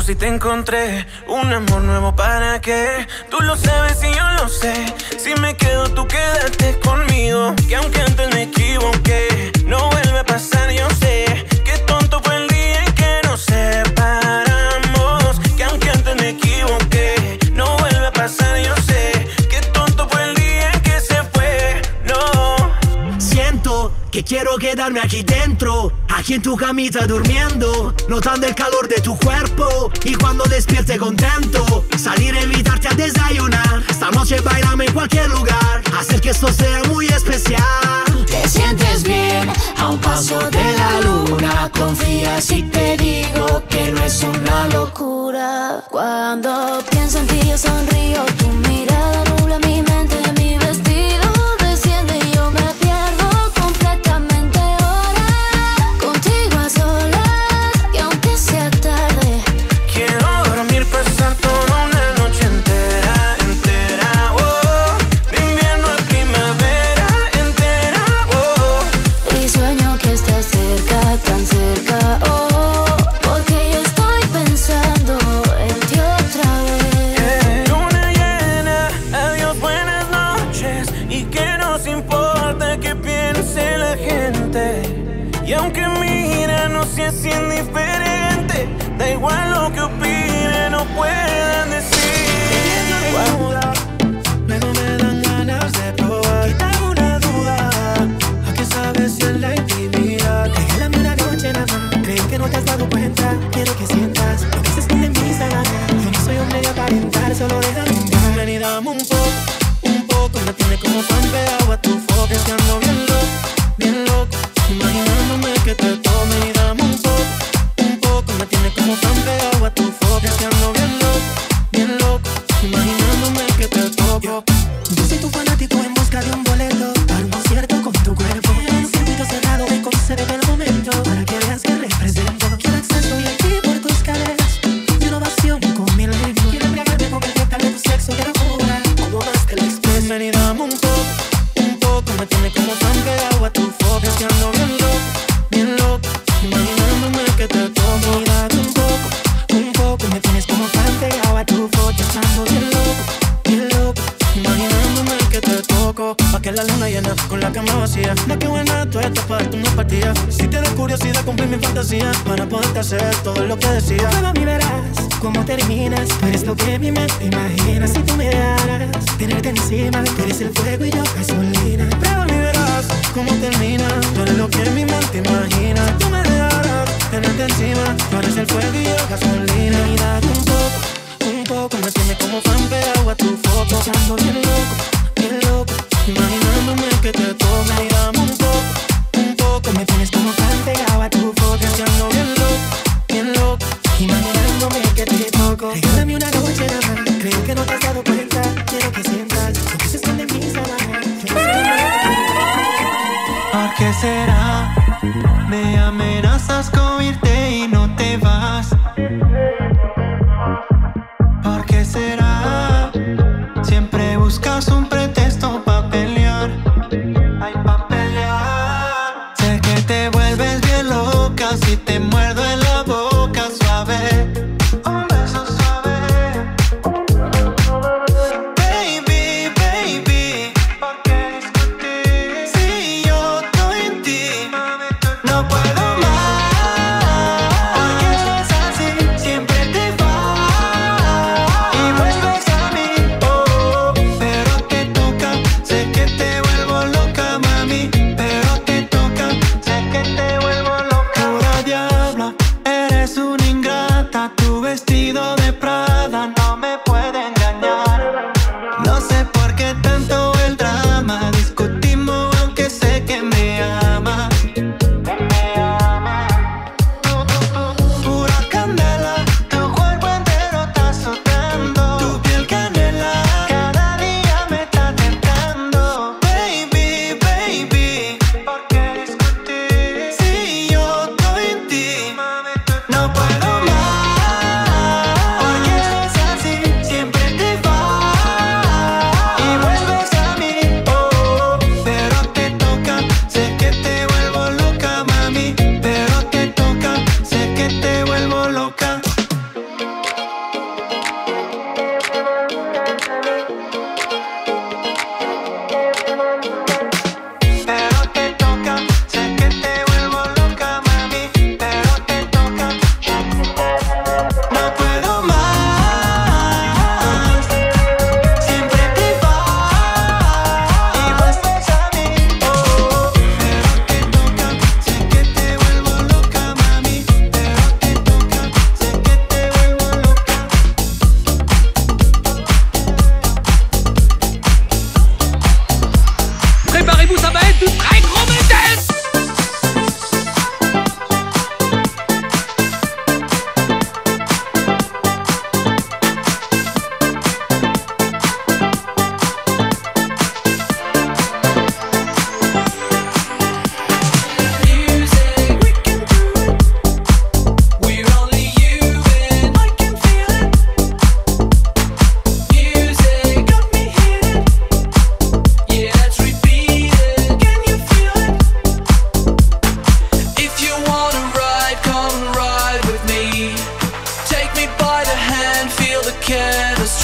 [SPEAKER 19] si te encontré un amor nuevo, ¿para qué? Tú lo sabes y yo lo sé. Si me quedo, tú quédate conmigo. Que aunque antes me equivoqué, no vuelve a pasar, yo sé. Qué tonto fue el día en que nos separamos. Que aunque antes me equivoqué, no vuelve a pasar, yo sé. Qué tonto fue el día en que se fue, no.
[SPEAKER 20] Siento que quiero quedarme aquí dentro, aquí en tu camita durmiendo, notando el calor de tu cuerpo. Y cuando despierte contento, salir a invitarte a desayunar. Esta noche bailame en cualquier lugar, hacer que esto sea muy especial.
[SPEAKER 2] Te sientes bien a un paso de la luna. Confía si te digo que no es una locura. Cuando pienso en ti yo sonrío. Tu mirada nubla mi mente, mi vestido desciende y yo me pierdo completamente ahora. Contigo a solas y aunque sea tarde,
[SPEAKER 19] quiero dormir, pasar toda una noche entera, entera, oh. De invierno a primavera, entera, oh.
[SPEAKER 2] y sueño que estás cerca, tan cerca, oh. Porque yo estoy pensando en ti otra vez.
[SPEAKER 19] Luna llena, adiós, buenas noches. Y que nos importa que piense la gente. Y aunque mira, no seas indiferente. Da igual lo que opinen, no puedan decir.
[SPEAKER 7] Luego me dan ganas de probar. Quítame una duda. ¿A qué sabes si en la intimidad? Regálame una noche nada más. Creo que no te has dado cuenta. Quiero que sientas lo que se esconde en mis sábanas. Yo no soy hombre de aparentar, solo déjame entrar. Ven y dame un poco. Me tiene como fan pegado a tu foto. Es que ando bien loco, imaginándome que te tome y dame un poco. Me tiene como fan pegado a tu foto. Es que ando bien loco, imaginándome que te toco. Yo soy tu fanático en busca de un boleto para un concierto con tu cuerpo. En un circuito cerrado me concede el momento para que veas que represento. Quiero acceso y aquí por tus caderas y una ovación con mil ritmos. Quiero embriagarme con el néctar de tu sexo, quiero jugar como más que el express. Ven y dame un poco. Me tiene como fan pegado a tu foto. Es que ando bien loco, imaginándome que te toco. Y dame un poco. Me tienes como fan pegado a tu foto. Estando bien loco, imaginándome que te toco. Pa' que la luna llena con la cama vacía. Ma' que buena tú estás para tu una partida. Si te da curiosidad, cumplir mi fantasía para poderte hacer todo lo que decía. Prueba y verás cómo terminas. Tú eres lo que mi mente imagina. Si tú me dejaras tenerte encima, tú eres el fuego y yo gasolina. Prueba y verás cómo termina. Tú eres lo que mi mente imagina. Si tú me dejaras tenerte encima, tú eres el fuego y yo gasolina. Y dame un poco. Me tiene como fan pegado a tu foto. Echando bien loco, imaginándome que te toca. Y dame un poco. Me tienes como fan pegado a tu foto. Echando bien loco, imaginándome que te toco. Regálame una noche nada más. Creo que no te has dado cuenta. Quiero que sientas lo que se esconde en mis sábanas. ¿Por qué será? Me amenazas con irte y no te vas. ¿Por qué será? Siempre buscas un pretexto pa' pelear. Ay, pa' pelear. Sé que te vuelves bien loca si te muerdo en la boca suave. Un beso suave. Baby, ¿por qué discutir? Si yo estoy en ti, mami.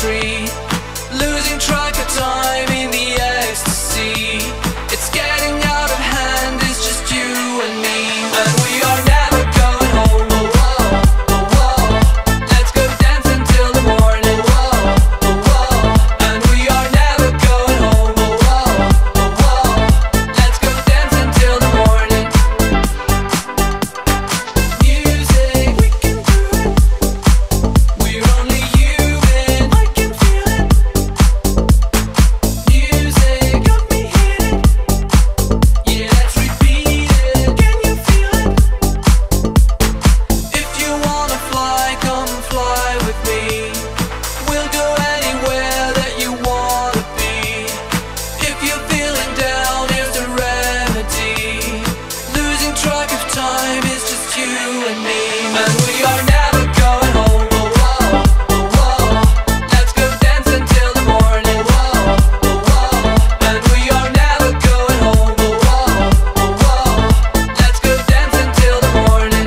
[SPEAKER 1] free, losing track of time in the ecstasy. It's getting out of hand, it's just you and me, and we are never going home. Oh, oh, oh, oh. Let's go dance until the morning. Oh, oh, oh. And we are never going home. Oh, oh, oh, oh. Let's go dance until the morning. Music, we can do it. We're only human. I can feel it. Music got me hitting. Yeah, let's repeat it. Can you feel it? If you wanna fly, come fly with me. We'll go anywhere that you wanna be. If you're feeling down, here's the remedy. Losing track of time is just you and me, and we are never going home. Oh, oh, oh, oh. Let's go dance until the morning. Oh, oh, oh. And we are never going home. Oh, oh, oh, oh. Let's go dance until the morning.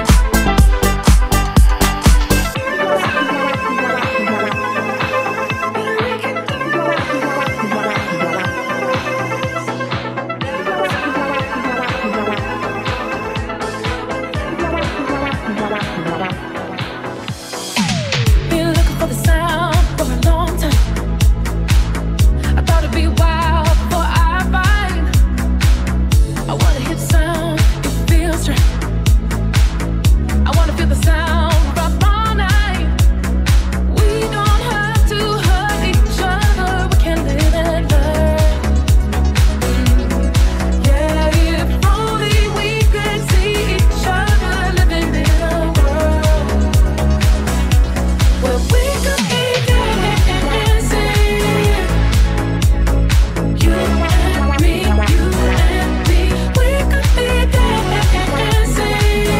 [SPEAKER 2] Been looking for the sound for a long time. I thought it'd be wild before I find. I wanna hear the sound, it feels right. I wanna feel the sound rock all night. We don't have to hurt each other, we can live and learn. Yeah, if only we could see each other living in a world where we could be dancing. You and me, you and me, we could be dancing.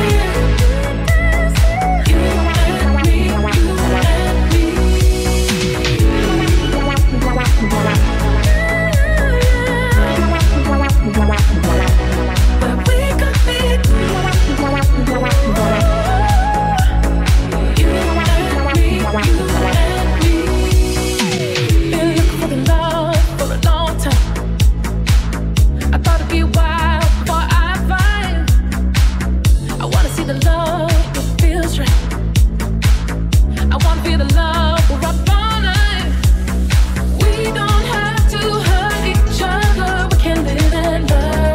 [SPEAKER 2] You and me, you and me. Where we could be. You and me, you and me. Been looking for the love for a long time. I thought it'd be wild before I find. I wanna see the love that feels right. I wanna feel the love we're up all night. We don't have to hurt each other, we can live and learn.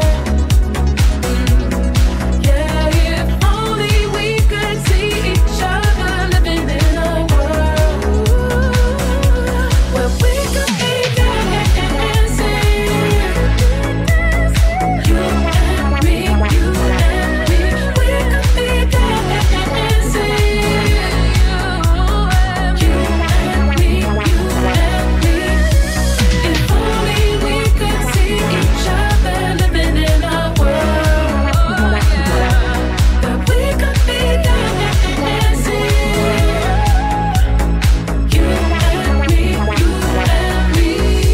[SPEAKER 2] Yeah, if only we could see each other living in a world where we could be dancing. You and me, you and me, we could be dancing. You and me, you and me. If only we could see each other living in a world that we could be dancing. You and me, you and me.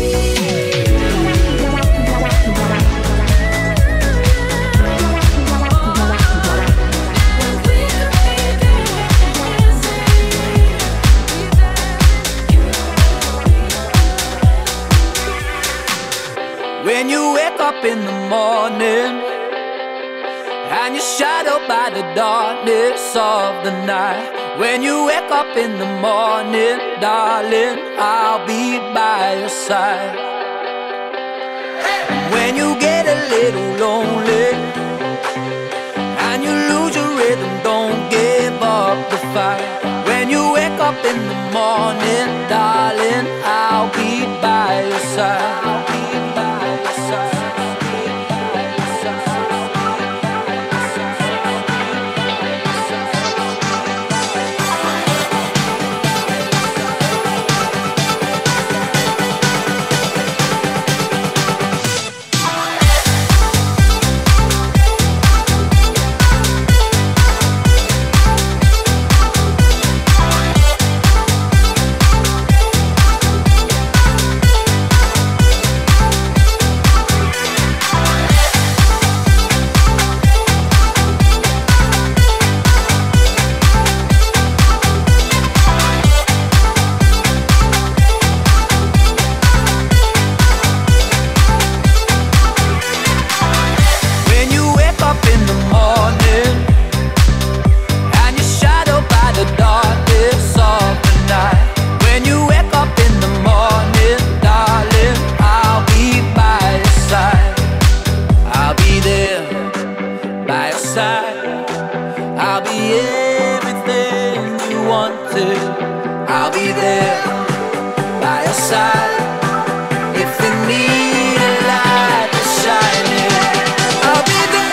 [SPEAKER 1] When you wake up in the morning and you're shadowed by the darkness of the night. When you wake up in the morning, darling, I'll be by your side. When you get a little lonely and you lose your rhythm, don't give up the fight. When you wake up in the morning, darling, I'll be by your side. I'll be by your side. side. If you need a light to shine in, I'll be there.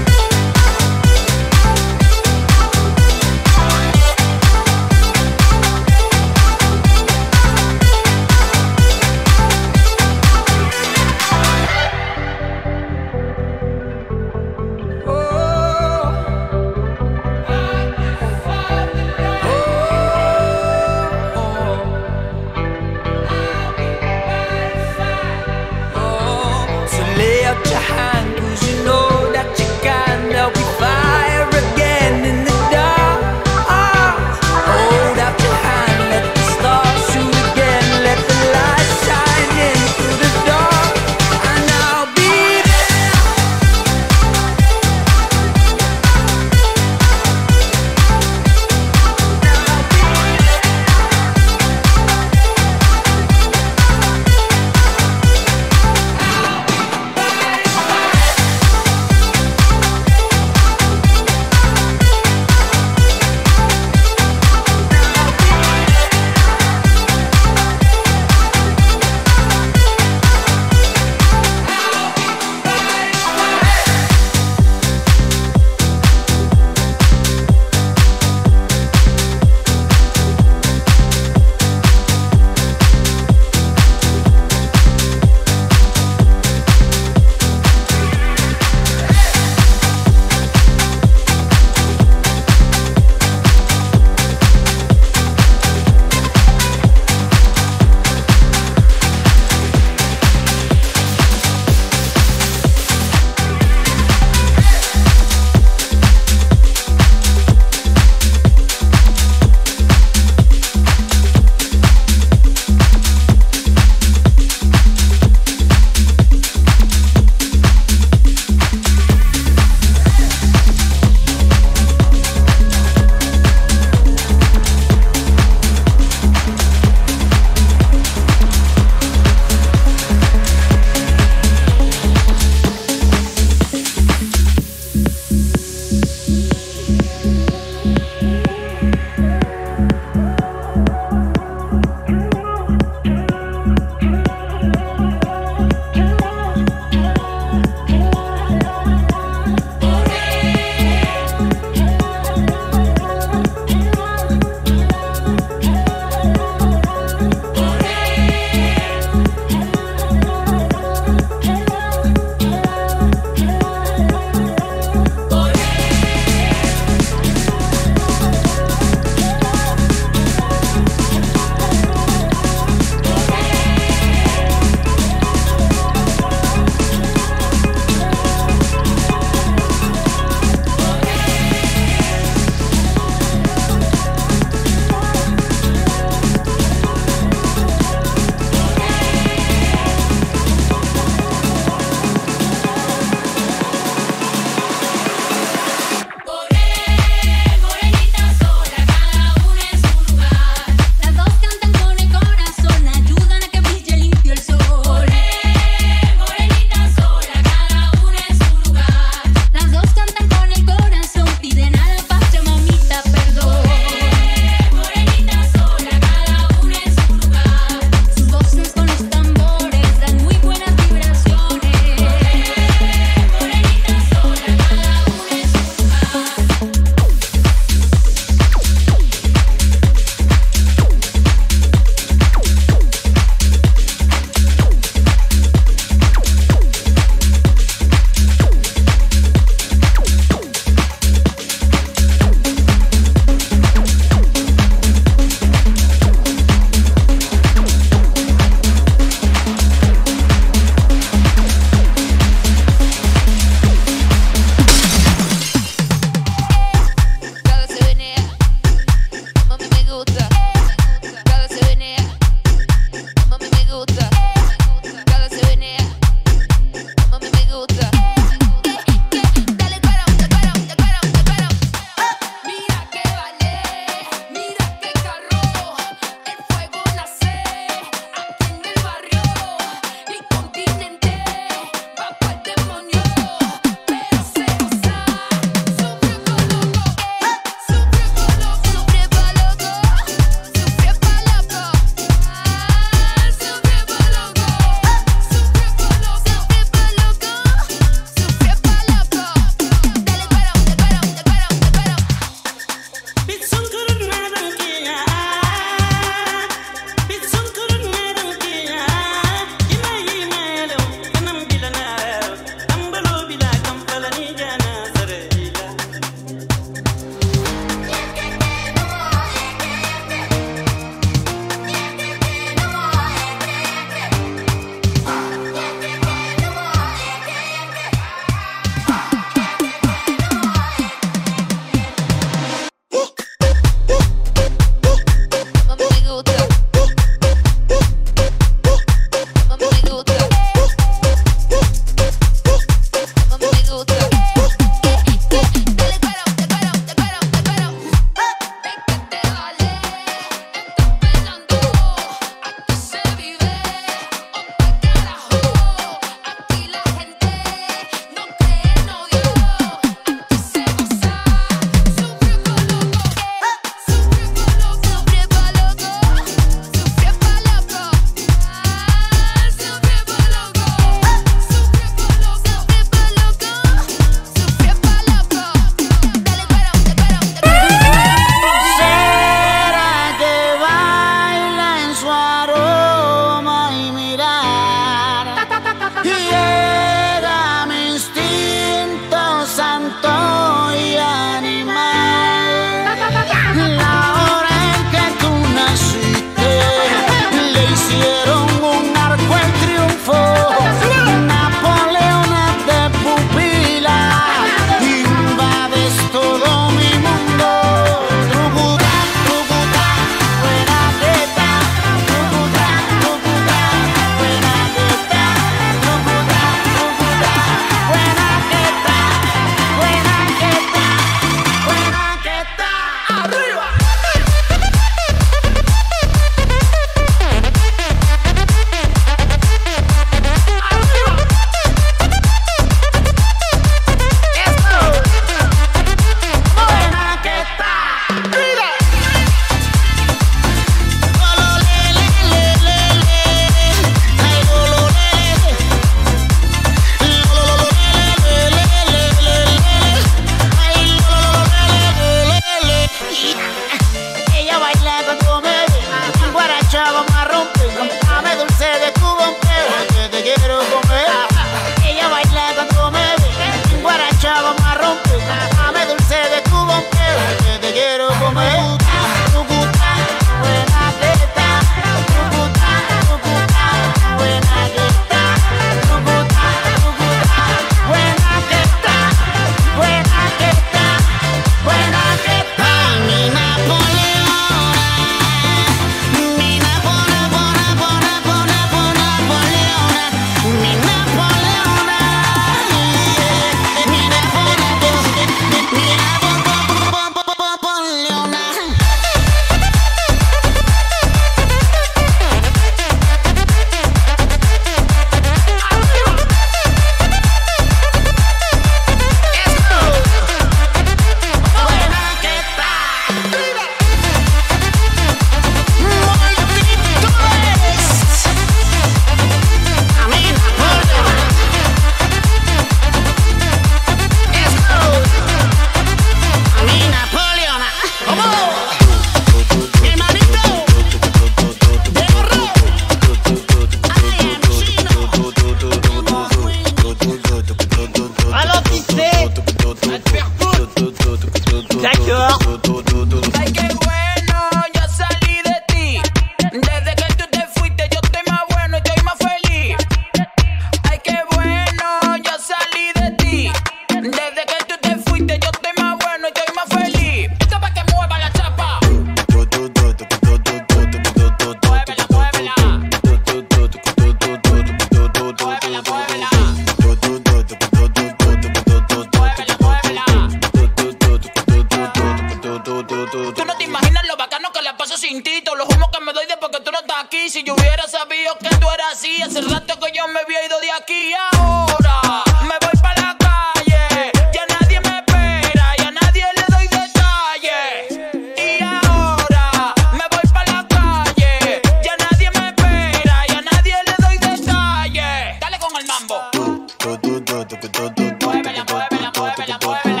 [SPEAKER 21] chintito. Los humos que me doy después que tú no estás aquí. Si yo hubiera sabido que tú eras así, hace rato que yo me había ido de aquí. Ahora me voy para la calle, ya nadie me espera, ya nadie le doy detalles. Y ahora me voy para la calle, ya nadie me espera, ya nadie le doy detalles. Dale con el mambo. Muévela, muévela, muévela, muévela.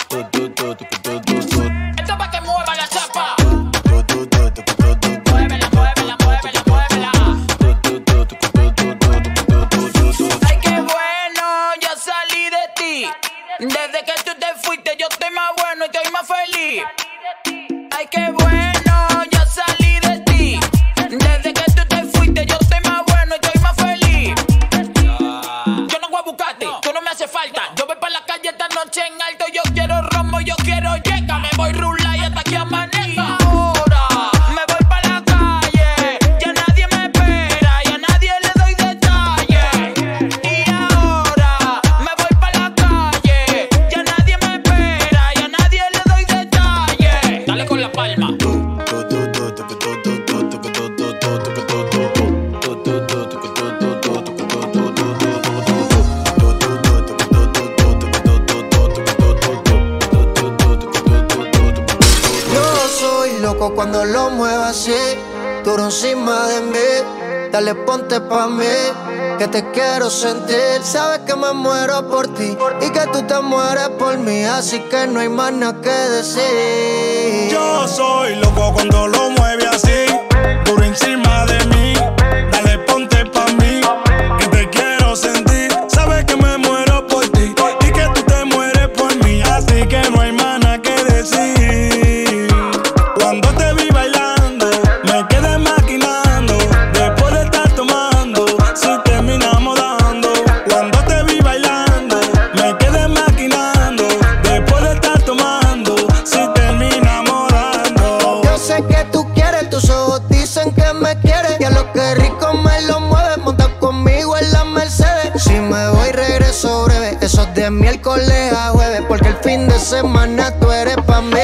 [SPEAKER 21] Esto pa' que mueva la chapa. Muévela, muévela, muévela, muévela. Ay, qué bueno, ya salí de ti. Desde que tú te fuiste yo estoy más bueno y estoy más feliz. Ay, qué bueno, ya salí de ti. Desde que tú te fuiste yo estoy más bueno y estoy más feliz. Yo no voy a buscarte, tú no me hace falta. Yo voy para la calle esta noche en alto. Yo quiero rombo, yo quiero llega. Me voy rula y hasta que amanezca. Ahora me voy para la calle, ya nadie me espera, ya nadie le doy detalles. Y ahora me voy para la calle, ya nadie me espera, ya nadie le doy detalles. Dale con la palma.
[SPEAKER 22] Yo soy loco cuando lo muevo así, duro encima de mí. Dale, ponte pa' mí, que te quiero sentir. Sabes que me muero por ti y que tú te mueres por mí, así que no hay más nada que decir.
[SPEAKER 23] Yo soy loco cuando lo mueve así, duro encima de mí. Dale, ponte pa' mí, que te quiero sentir. Sabes que me muero por ti y que tú te mueres por mí, así que no hay más nada que decir. Cuando te vi bailando, me quedé maquinando. Después de estar tomando, si terminamos dando. Cuando te vi bailando, me quedé maquinando. Después de estar tomando, si terminamos dando.
[SPEAKER 22] Yo sé que tú quieres, tus ojos dicen que me quieres. Y a lo que rico me lo mueves, monta conmigo en la Mercedes. Si me voy regreso breve, eso es de miércoles a jueves, porque el fin de semana tú eres pa' mí.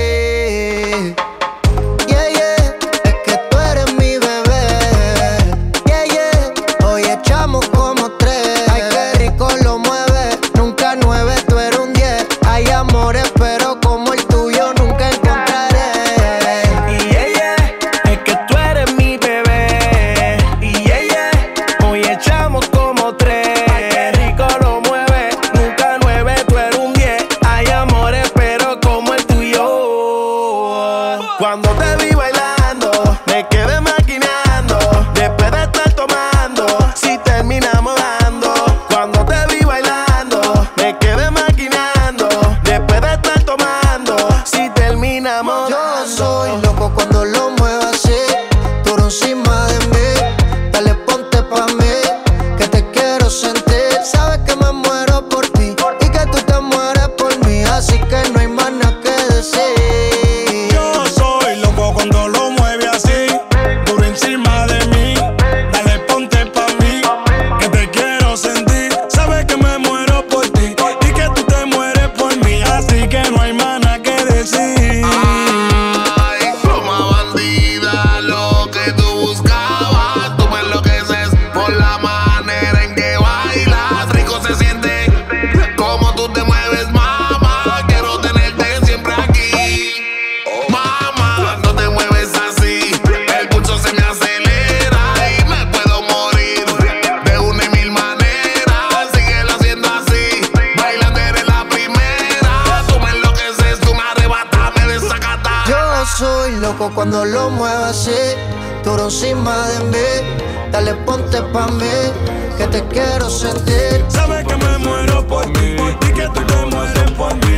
[SPEAKER 22] Yeah, yeah, es que tú eres mi bebé. Yeah, yeah, hoy echamos como 3. Ay, qué rico lo mueve, nunca 9, tú eres un 10. Hay amores, pero como el tuyo nunca encontraré.
[SPEAKER 21] Y ella, es que tú eres mi bebé. Y ella, hoy echamos como 3. Ay, qué rico lo mueve, nunca 9, tú eres un 10. Hay amores, pero como el tuyo.
[SPEAKER 23] Cuando te vi bailando, me quedé maquinando. Después de estar tomando, si terminamos dando. Cuando te vi bailando, me quedé maquinando. Después de estar tomando, si terminamos
[SPEAKER 22] Yo
[SPEAKER 23] dando.
[SPEAKER 22] soy loco cuando lo muevo así, duro encima de mí. Dale, ponte pa' mí, que te quiero sentir. Sabes que me muero por ti y que tú te mueres por mí, así que no hay más nada que decir.
[SPEAKER 23] Yo soy loco cuando lo mueve así, duro encima de mí. Dale, ponte pa' mí, que te quiero sentir. Sabes que me muero por ti y que tú te mueres por mí, así que no hay más nada que decir.
[SPEAKER 6] Ay, toma bandida, lo que tú buscabas. Tú me enloqueces por la manera en que bailas. Rico se siente como tú te mueves, mamá. Quiero tenerte siempre aquí. Mamá, cuando te mueves así, el pulso se me acelera y me puedo morir de una y mil maneras. Síguelo haciendo así, bailando eres la primera. Tú me enloqueces, tú me arrebatas, me desacata.
[SPEAKER 22] Yo soy loco cuando lo muevo así, duro encima de mí. Dale, ponte pa' mí, que te quiero sentir.
[SPEAKER 23] Sabes que me muero por ti y que tú te mueres por mí.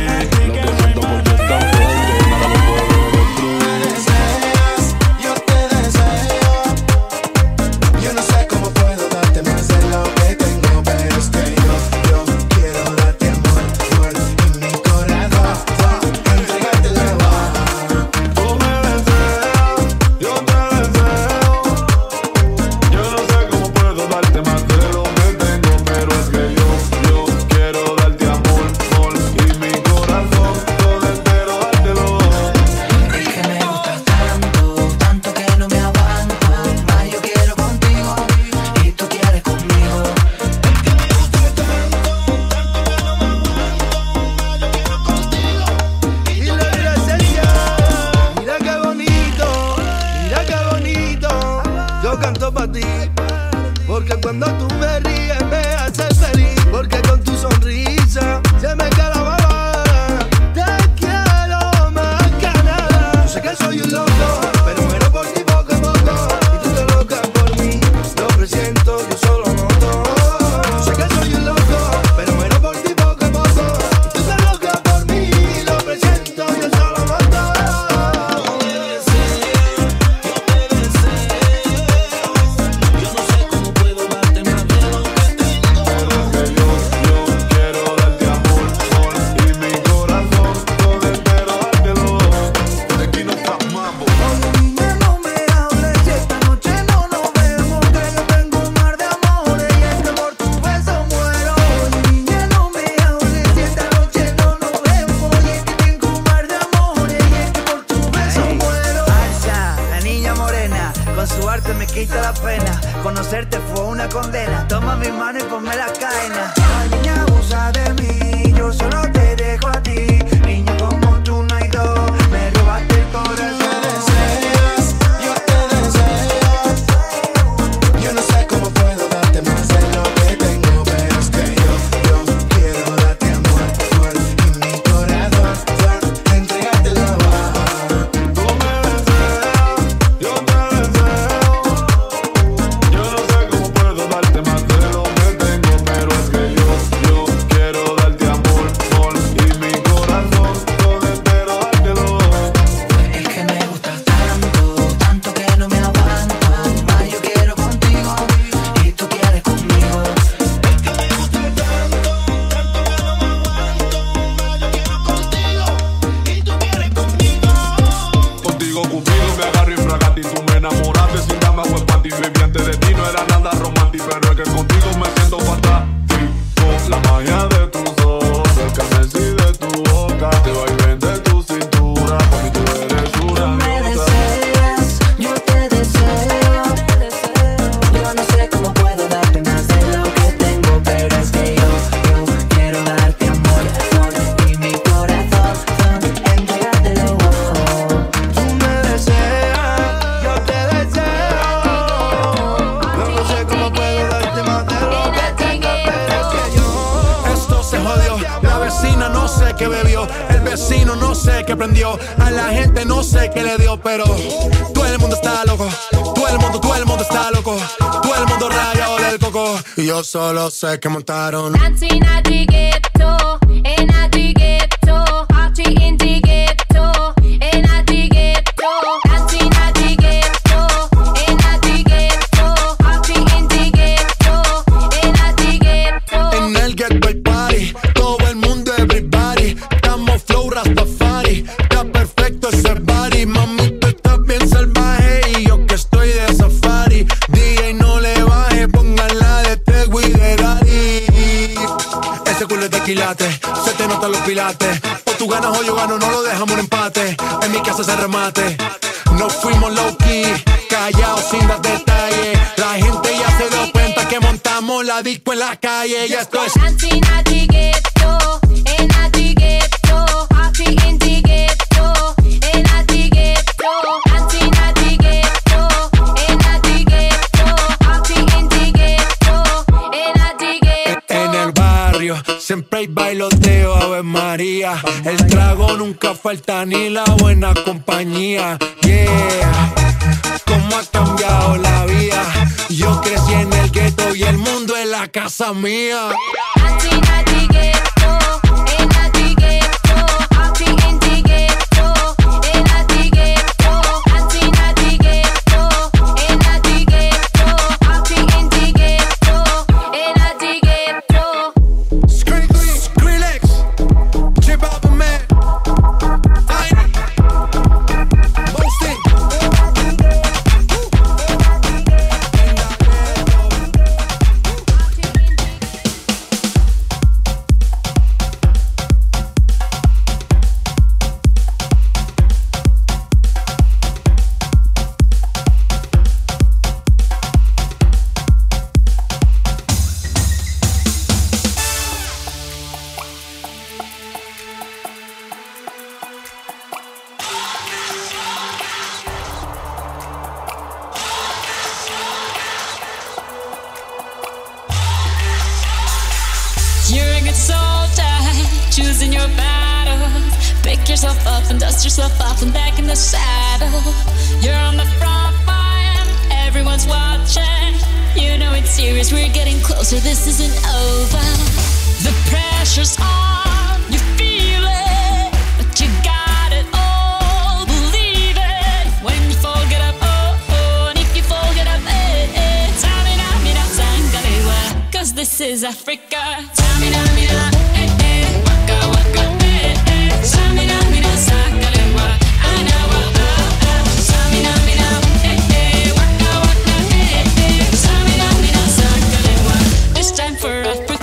[SPEAKER 24] Yo te deseo. Yo no sé cómo puedo darte más de lo que tengo, pero es que yo quiero darte amor, amor en mi corazón. Entregarte la voz.
[SPEAKER 13] Tú me deseas, yo te deseo. Yo no sé cómo puedo darte más de lo que tengo, pero es que yo quiero darte amor, amor
[SPEAKER 4] canto pa' ti. Porque cuando tú me ríes me haces feliz. Porque con tu sonrisa se me cae la baba. Te quiero más que nada. Yo sé que soy un loco, pero muero por ti poco a poco. Y tú te loca por mí, lo presiento, yo solo noto. Yo sé que soy un loco, pero muero por ti poco a poco. Y tú te loca por mí, lo presiento, yo solo noto.
[SPEAKER 5] Quita la pena, conocerte fue una condena. Toma mi mano y ponme la cadena. La niña abusa de mí, yo solo te dejo a ti. Niña como tú no hay dos, me robaste el corazón.
[SPEAKER 24] Me deseas, yo te deseo. Yo no sé cómo puedo darte más de lo que tengo, pero es que yo quiero darte amor, amor. Y mi corazón, entregártelo.
[SPEAKER 13] Tú me deseas, yo te deseo. Yo no sé cómo puedo darte más de lo que tengo, pero es que yo quiero darte amor, amor. Y mi corazón, todo entero dártelo.
[SPEAKER 5] Es que me gustas tanto, tanto que no me aguanto. Más yo quiero contigo y tú quieres conmigo.
[SPEAKER 4] Es que me gusta tanto, tanto que no me aguanto. Más yo quiero contigo y tú quieres conmigo.
[SPEAKER 13] Contigo Cupido me agarré en fragata y tú me enamoraste sin dama o panty. Baby, antes de ti no era nada romántico, pero es que contigo me siento fantástico. La magia de tus ojos, el carmesí de tu boca, te vaivén de tu cintura, por mí tú eres una
[SPEAKER 5] Me
[SPEAKER 13] diosa.
[SPEAKER 5] deseas, yo te deseo. Yo no sé cómo puedo darte más de lo que tengo, pero es que yo quiero darte amor, amor. Y mi corazón, entregártelo.
[SPEAKER 4] Tú me deseas, yo te deseo. Yo no sé cómo puedo darte más de lo que tengo, pero es que yo.
[SPEAKER 20] Esto se jodió, la vecina no sé qué bebió, el vecino no sé qué prendió, a la gente no sé qué le dio, pero todo el mundo está loco, todo el mundo está loco, todo el mundo rayado del coco, y yo solo sé que montaron.
[SPEAKER 2] Dancing at the ghetto, in at the ghetto, party in the ghetto, in at the ghetto, dancing at the ghetto, in at the ghetto, party in the ghetto, in at the ghetto.
[SPEAKER 20] En el ghetto hay party, todo el mundo everybody, estamos flow Rastafari, está perfecto ese body, mami tú estás bien salvaje y yo que estoy de safari, DJ no le baje, pónganla de Tego y de Daddy. Ese culo es de quilate, se te notan los pilates, o tú ganas o yo gano, no lo dejamos en empate, en mi casa se remate, nos fuimos low key, callados sin dar detalles, la gente ya se dio cuenta que montamos la disco en la calle, ya esto es
[SPEAKER 2] Dancing at the ghetto, in at the ghetto, party in the ghetto, in at the ghetto, dancing at the ghetto, in at the ghetto, party in the ghetto, in at the ghetto.
[SPEAKER 20] en el barrio, siempre hay bailoteo, Ave María, el trago nunca falta ni la buena compañía, yeah, cómo ha cambiado la vida, yo crecí en el gueto y el mundo es la casa mía.
[SPEAKER 2] Dancing at the ghetto, in at the ghetto, party in the ghetto, in at the ghetto, dancing at the ghetto, in at the ghetto, party in the ghetto, in at the ghetto.
[SPEAKER 20] Skrillex, Chip Out the Man, Boasting.
[SPEAKER 2] losing your battles. Pick yourself up and dust yourself off and back in the saddle. You're on the front line, everyone's watching. You know it's serious, we're getting closer, this isn't over. The pressure's on, you feel it, but you got it all, believe it. When you fall, get up, oh, oh, and if you fall, get up, eh, eh. Tamina, mina, sangalewa, 'cause this is Africa. Tamina, mina, eh, eh, waka, waka, eh, eh. Tamina, mina, sangalewa, anawa, ah, ah. Tamina, mina, eh, eh, waka, waka, eh, eh. Tamina, mina, sangalewa, this time for Africa.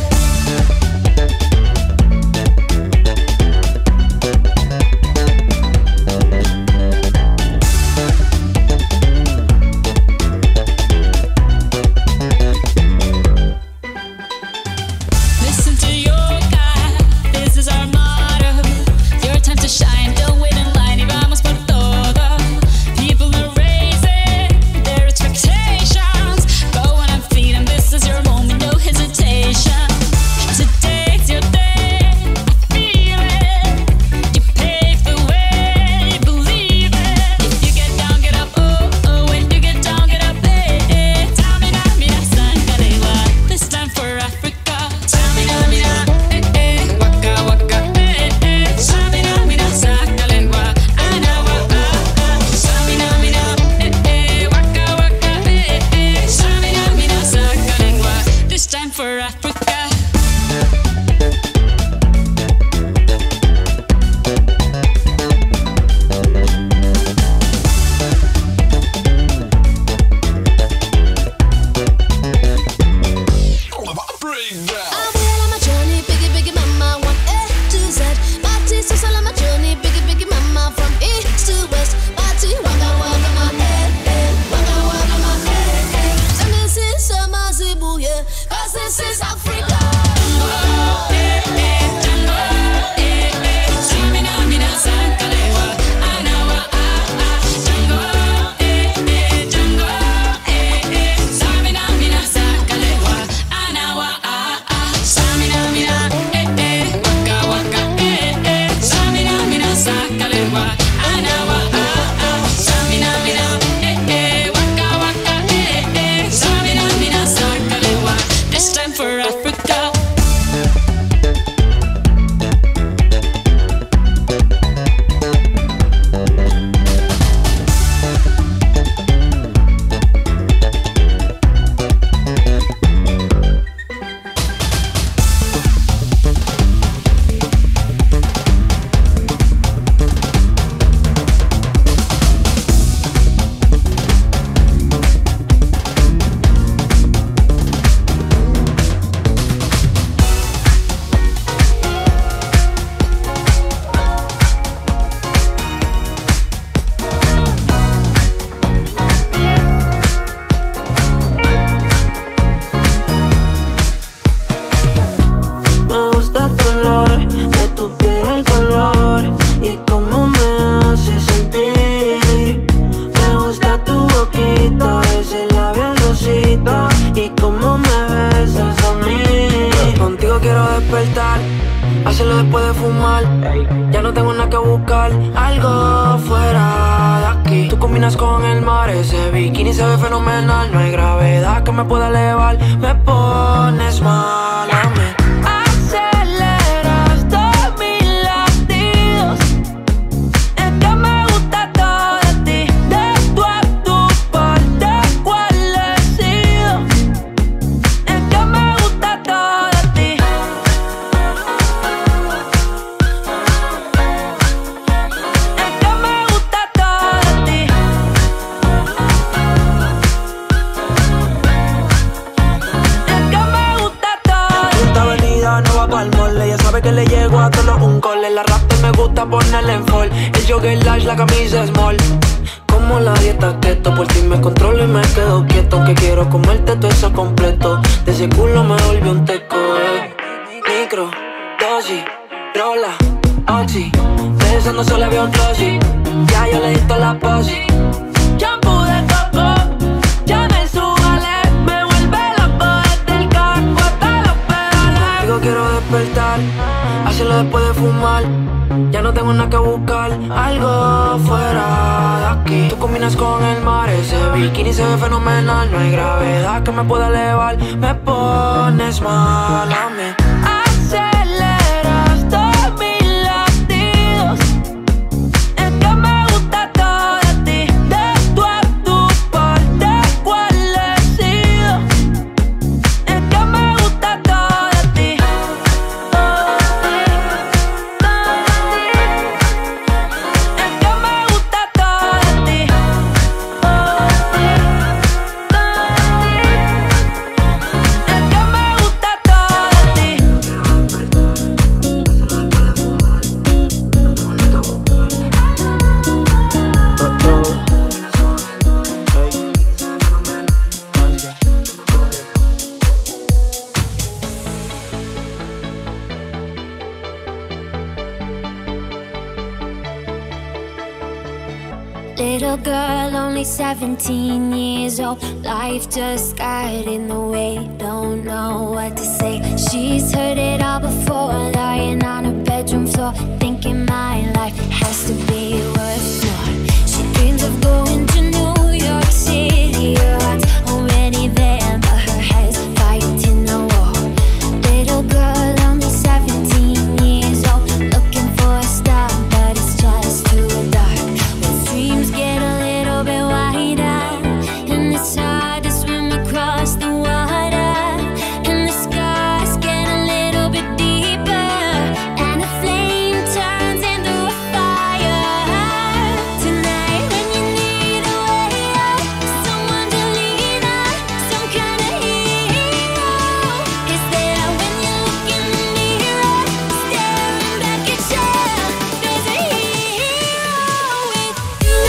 [SPEAKER 2] Listen to your God, this is our motto. Your time to shine, don't wait in line, y vamos por todo. People are raising their expectations. Go on and feed them, this is your moment, no hesitation. Today's your day, I feel it. You pave the way, believe it. If you get down, get up, oh, oh. When you get down, get up, eh, eh. Tamina, mina, sangalewa, this time for Africa. Tamina, mina, eh, eh, waka, waka, eh, eh. Tamina, mina, sangalewa, anawa, ah, ah. Tamina, mina, eh, eh, waka, waka, eh, eh. Tamina, mina, sangalewa, this time for Africa. This is Africa. This time for Africa.
[SPEAKER 7] Me gusta tu olor, de tu piel el color y cómo me hace sentir. Me gusta tu boquita, ese labial rosita y cómo me besas a mí. Contigo quiero despertar, hacerlo después de fumar. Ya no tengo nada que buscar, algo fuera de aquí. Tú combinas con el mar, ese bikini se ve fenomenal. No hay gravedad que me pueda elevar, me pones mal a mí. Aceleras todos mis latidos, es que me gusta todo de ti. De tú a tu parte, ¿cuál he sido? Es que me gusta todo de ti. Es que me gusta todo de ti. Es que me gusta todo. Esta avenida no va pa'l mall, ella sabe que le llego a todos un cole. La rap me gusta ponerle en fall, el jogger large, la camisa small. Como la dieta keto, por ti me controlo y me quedo quieto. Que quiero comerte todo eso completo, de ese culo me volvió un teco, Micro, dosis, rola, oxi, besando solo había un glossy. Ya yo le di toda la posi. Shampoo de coco, ya me subale, me vuelve loco desde el carro hasta los pedales. Digo quiero despertar, hacer
[SPEAKER 2] solo después de fumar. Ya no tengo nada que buscar, algo fuera de aquí. Tú combinas con el mar, ese bikini se ve fenomenal. No hay gravedad que me pueda elevar, me pones mal a mí. Aceleras todos mis latidos. Es que me gusta todo de ti, de tú a tu parte, cuál he sido. Es que me gusta todo de ti.
[SPEAKER 3] Little girl, only 17 years old. Life just got in the way, don't know what to say. She's heard it all before, lying on her bedroom floor, thinking my life has to be worth more. She dreams of going to New York City. Her heart's already there, but her head's fighting the war. Little girl, only 17 years old, looking for a star, but it's just too dark. When dreams get a little bit wider, and it's hard to swim across the water, and the scars get a little bit deeper, and the flame turns into a fire. Tonight when you need a way out, someone to lean on, some kind of hero is there when you look in the mirror, staring back at you. There's a hero with you.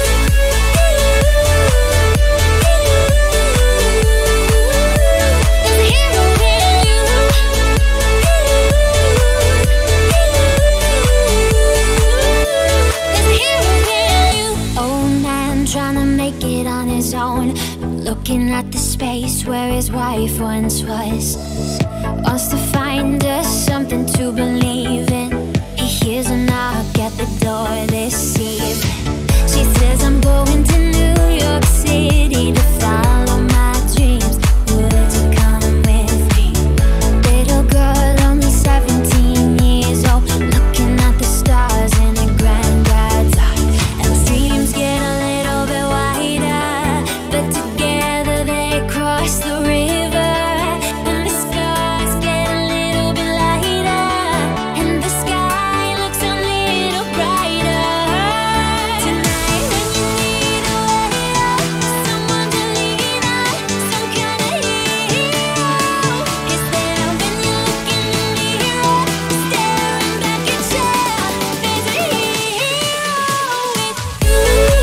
[SPEAKER 3] Old man trying to make it on his own, looking at the space where his wife once was. Wants to find us something to believe in. He hears a knock at the door this evening. She says, I'm going to New York City to follow my dreams. Would you come with me? Little girl, only 17 years old, looking at the stars in a granddad's eye. And the dreams get a little bit wider, but together they cross the river. And the scars get a little bit lighter, and the sky looks a little brighter. Tonight when you need a way out, someone to lean on, some kind of hero is there when you look in the mirror, staring back at you. There's a hero with you.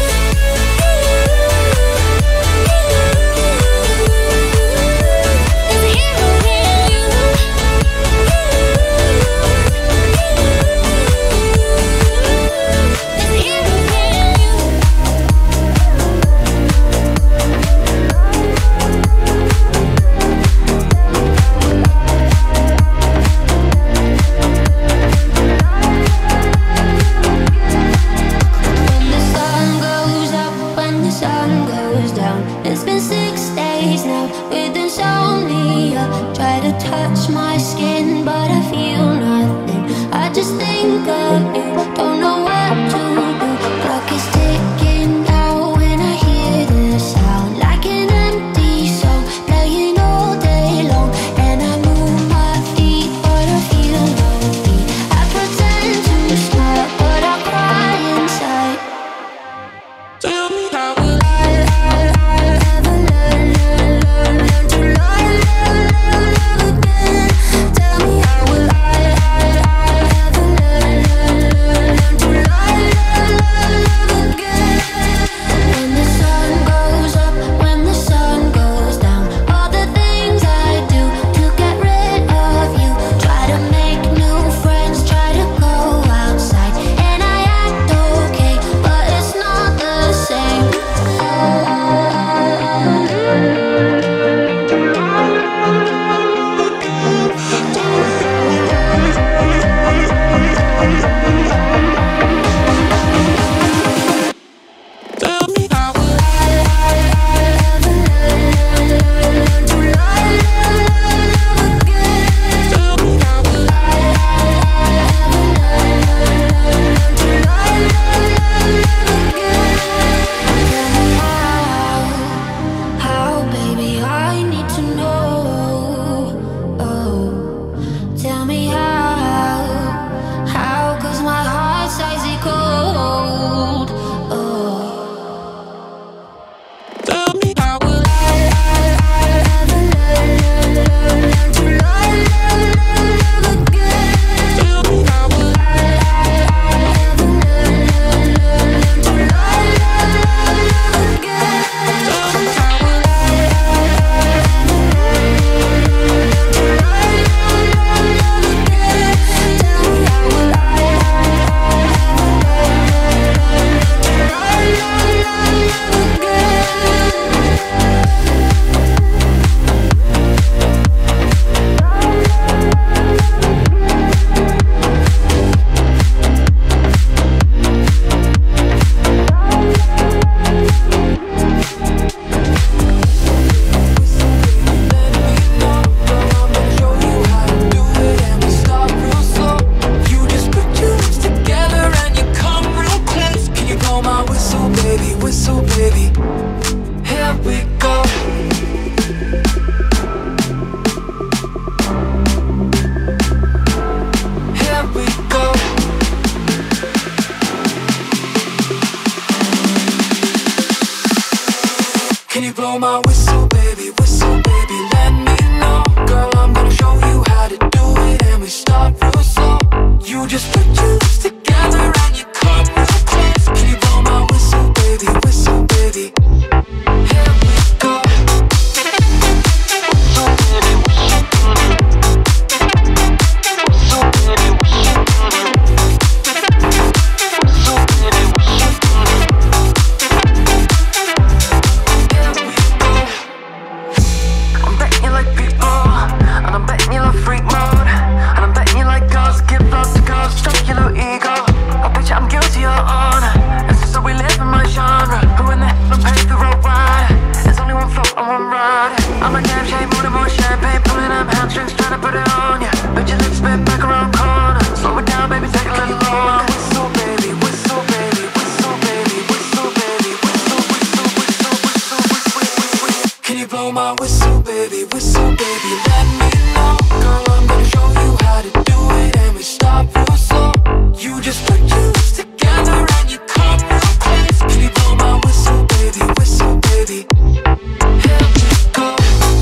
[SPEAKER 3] When the sun goes up, when the sun goes down, it's been 6 days now with insomnia. Try to touch my skin, but I feel nothing. I just think of you, don't know what to do. Clock is ticking down when I hear the sound, like an empty song playing all day long. And I move my feet, but I feel no beat. I pretend to smile, but I cry inside. Tell me how will I ever learn to
[SPEAKER 21] Can you blow my whistle, baby, let me know. Girl, I'm gonna show you how to do it, and we start real slow. You just put your lips together and you come real close. Can you blow my whistle, baby, here we go. I'm betting you like people, and I'm betting you love freak mode, and I'm betting you like girls, give love to girls, stroke your little ego. I bet you I'm guilty of honor, and so we live in my genre. Who in the hell pays the road ride? There's only one float and one ride. I'm a damn shame, more champagne, pulling up hamstrings, trying to put it on ya. But your lips spin back around corner. Slow it down, baby, take a little longer. Whistle, baby, whistle, baby, whistle, baby, whistle, baby, whistle, whistle, whistle, whistle, whistle, whistle. Can you blow my whistle, baby, let me know. Girl, I'm gonna show you how to do it, and we start real slow. You just put your lips together and you come real close. Can you blow my whistle, baby, here we go.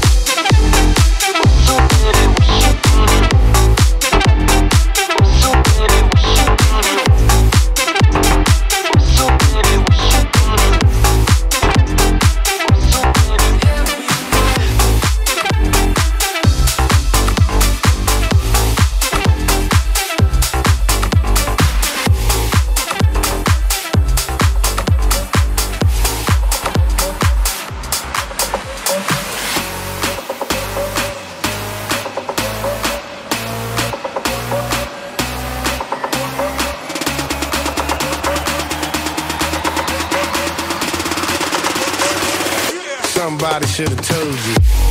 [SPEAKER 8] Somebody should have told you.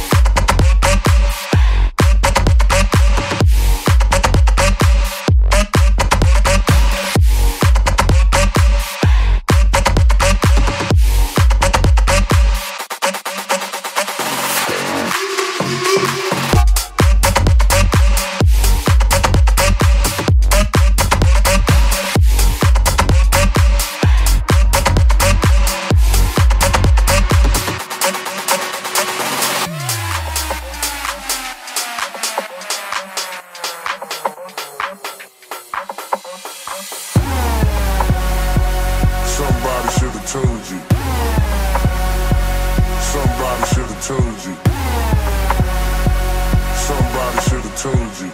[SPEAKER 13] Somebody should have told you. Somebody should have told you. Somebody should have told you.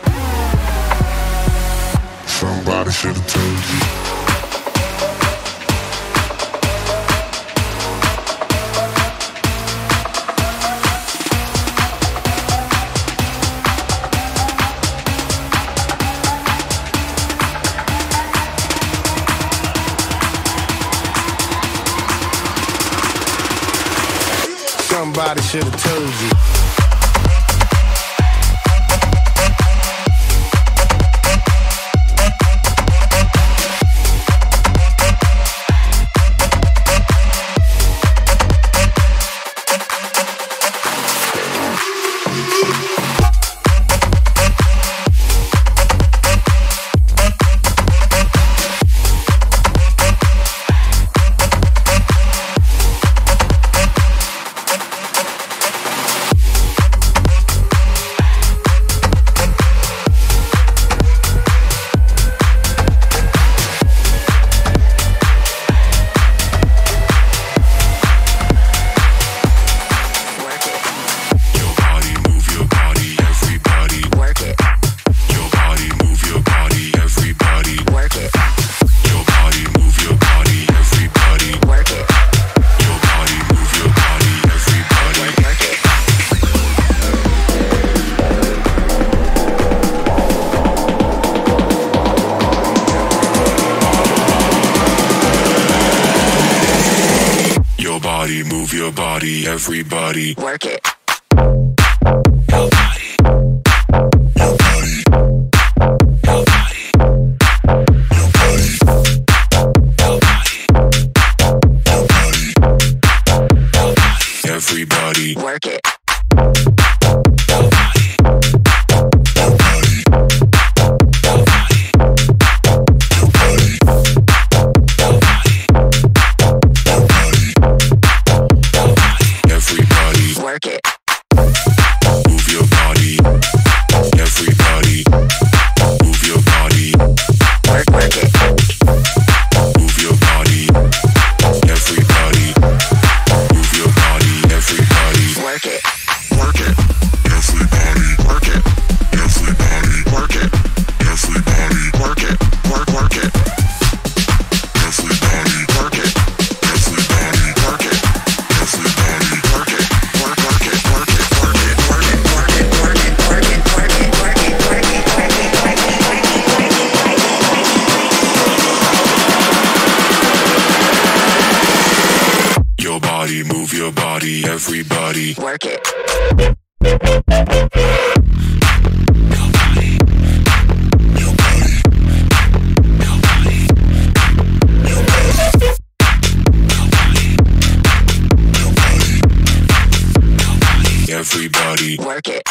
[SPEAKER 13] Somebody should have told you.
[SPEAKER 8] Somebody should have told you.
[SPEAKER 13] Move your body, everybody.
[SPEAKER 21] Work it.
[SPEAKER 13] Your body. Your body. Your body. Your body. Your body. Your body. Your body. Everybody.
[SPEAKER 21] Work it.
[SPEAKER 13] Your body. Your body. Your body. Your body. Your body. Your body.
[SPEAKER 10] your body, everybody.
[SPEAKER 12] Work it.
[SPEAKER 10] Everybody.
[SPEAKER 12] Work it.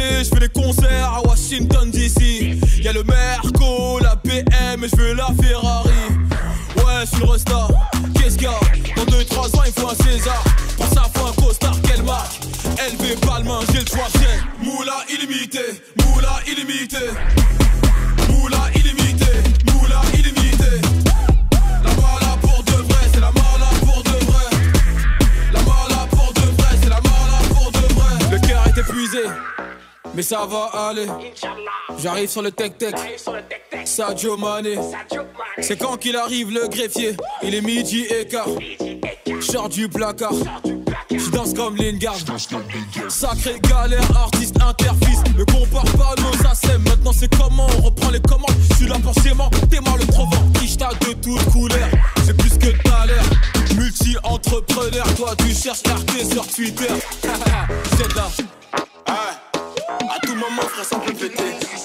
[SPEAKER 12] je fais des concerts à Washington DC. Y'a le Merco, la BM et je veux la Ferrari. Ouais, je suis le resta, qu'est-ce qu'il y a? Dans 2-3 ans il faut un César. Pour ça faut un costard, quelle marque? LV Balmain, j'ai le choix, j'ai moula illimité, moula illimité. Moula illimité, moula illimité. La mala pour de vrai, c'est la mala pour de vrai. La mala pour de vrai, c'est la mala pour de vrai. Le cœur est épuisé, mais ça va aller. J'arrive sur le tech-tech, Sadio Mané. C'est quand qu'il arrive le greffier, il est midi et quart. J'sors du placard, j'danse comme Lingard. Sacré galère, artiste interfils. Ne compare pas nos assèmes, maintenant c'est comment on reprend les commandes. J'suis là pour sément, t'es mal le trovant. Ishta de toutes couleurs, c'est plus que t'as l'air. Multi-entrepreneur, toi tu cherches RT sur Twitter. C'est là. À tout moment frère ça peut péter.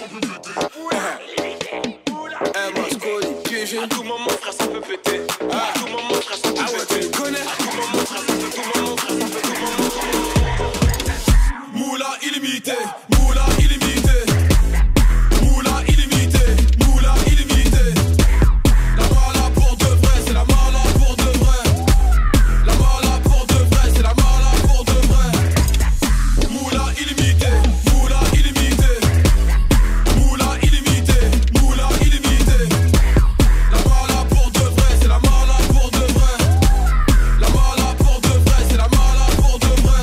[SPEAKER 12] À tout moment frère ça peut péter. À tout moment frère ça peut péter. Tu connais. À tout moment frère ça peut, tout moment frère ça peut, tout moment. Moula illimité, moula illimité. Moula illimité, moula illimité. La mala pour de vrai, c'est la mala pour de vrai. La mala pour de vrai, c'est la mala pour de vrai. Moula illimité, moula illimité. Moula illimité, moula illimité. La mala pour de vrai, c'est la mala pour de vrai. La mala pour de vrai, c'est la mala pour de vrai.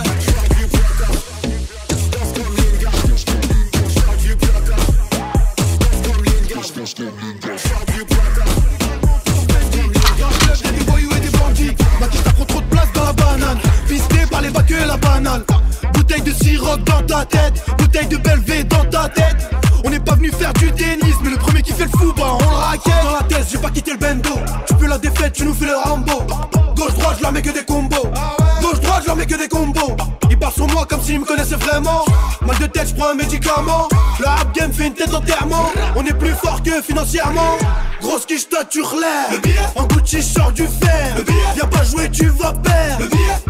[SPEAKER 15] Des voyous et des bandits, ma quiche t'as trop de place dans la banane. Pisté par les bacs et la banane. Bouteille de sirop dans ta tête, bouteille de Belvé dans ta tête. On n'est pas venu faire du tennis, mais le premier qui fait le fou, bah on le raquette. Dans la tête, j'ai pas quitté le bendo. Tu peux la défaite, tu nous fais le Rambo. Gauche-droite, je leur mets que des combos. Gauche-droite, je leur mets que des combos. Ils parlent sur moi comme s'ils me connaissaient vraiment. Mal de tête, je prends un médicament. Le rap game fait une tête d'enterrement. On est plus fort que financièrement. Grosse quiche, toi tu relèves. En Gucci, sors du fer. Viens pas jouer, tu vas perdre.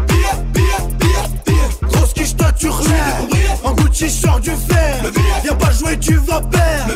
[SPEAKER 15] Grosse quiche, toi tu relèves. En Gucci, sors du fer. Viens pas jouer, tu vas perdre.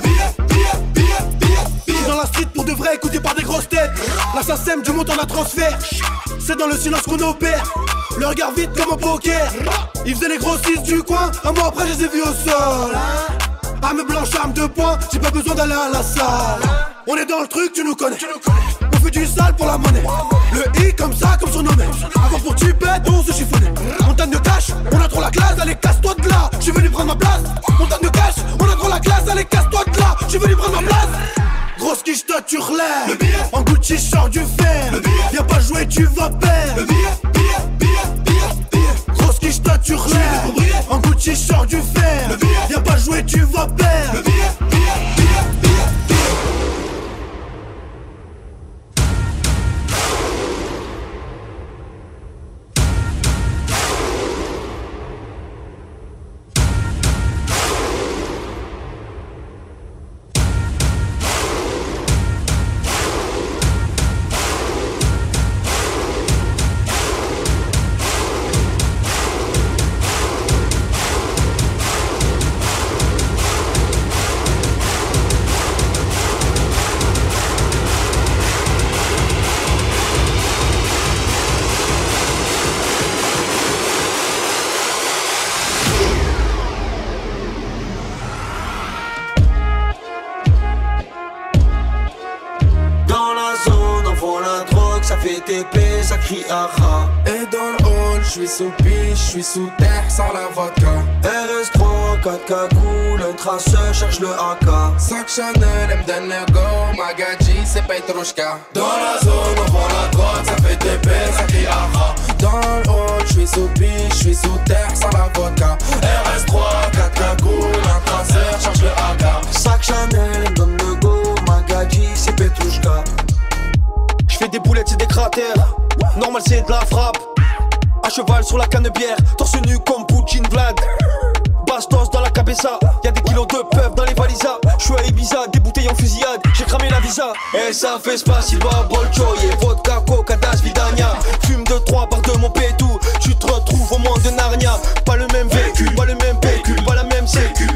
[SPEAKER 15] Dans la street pour de vrai, écouté par des grosses têtes. L'assassin du montant d'un transfert. C'est dans le silence qu'on opère. Le regard vite comme un poker. Ils faisaient les grossistes du coin. Un mois après, je les ai vus au sol. Arme blanche, arme de poing. J'ai pas besoin d'aller à la salle. On est dans le truc, tu nous connais. On fait du sale pour la monnaie. Le I comme ça, comme surnommé. Avant pour tu pètes, on se chiffonnait. Montagne de cash, on a trop la classe. Allez, casse-toi de là, je suis venu prendre ma place. Montagne de cash, on a trop la classe. Allez, casse-toi de là, je suis venu prendre ma place. Grosse quiche, toi tu relèves. En Gucci, sors du fer. Viens pas jouer, tu vas perdre. Grosse quiche, toi tu relèves. En Gucci, sors du fer. Viens pas jouer, tu vas perdre.
[SPEAKER 14] TP, ça crie aha. Et dans le hall, j'suis sous piche, j'suis sous terre, sans la vodka. RS3, 4 cagoules, un traceur, cherche le AK. Sac Chanel, M donne le go, Magadji, c'est Petrushka. Dans la zone, on vend la drogue, ça fait TP, ça crie aha. Dans le hall, j'suis sous piche, j'suis sous terre, sans la vodka. RS3, 4 cagoules, un traceur, cherche le AK. Sac Chanel, M donne le go, Magadji, c'est Petrushka.
[SPEAKER 15] J'fais des boulettes, c'est des cratères. Normal, c'est de la frappe. À cheval sur la canne-bière, torse nu comme Poutine Vlad. Bastos dans la cabeza, y'a des kilos de peuf dans les valisas. J'suis à Ibiza, des bouteilles en fusillade, j'ai cramé la visa. Et ça fait Spasiba, Bolchoy et vodka, coca, das, vidania. Fume de 3 barres de mon pétou, tu te retrouves au monde de Narnia. Pas le même vécu, pas le même PQ, pas la même sécu.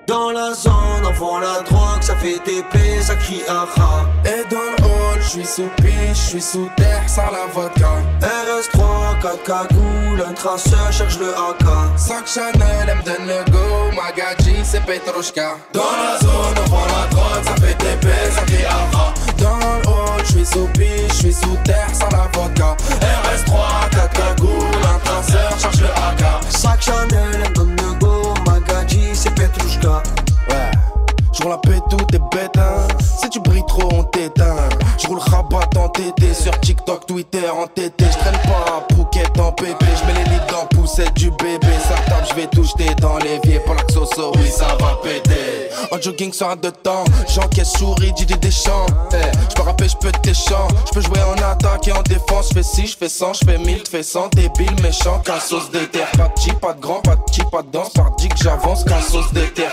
[SPEAKER 22] Dans la zone, on vend la drogue, ça fait TP, ça crie aha.
[SPEAKER 14] Et dans le hall, j'suis sous piche, j'suis sous terre, sans la vodka.
[SPEAKER 22] RS3, 4 cagoules, un traceur cherche le AK.
[SPEAKER 14] Sac Chanel, elle me donne le go, Magadji, c'est Petrushka. Dans la zone, on vend la drogue, ça fait TP, ça crie aha. Dans le hall, j'suis sous piche, j'suis sous terre, sans la vodka. RS3, 4 cagoules, un traceur cherche le AK.
[SPEAKER 22] Sac Chanel, elle me donne le go, Magadji, c'est Petrushka.
[SPEAKER 14] Ouais, j'roule la paix, tout est bête, hein. Si tu brilles trop, on t'éteint. J'roule rabat en TT, sur TikTok, Twitter, en TT. J'traîne pas à Phuket en pépé. J'mets les lits dans poussette du bébé. Ça tape, j'vais tout jeter dans l'évier. Pour l'axoso, oui, ça va péter. En jogging sur un de temps, j'encaisse souris, Didier Deschamps. J'peux rapper, j'peux t'échant. J'peux jouer en attaque et en défense. J'fais 6, j'fais 100, j'fais 1000, j'fais 100. Débile, méchant, qu'un sauce de terre. Pas de petit, pas de grand, pas de petit, pas de danse. Par dit que j'avance, qu'un sauce de terre.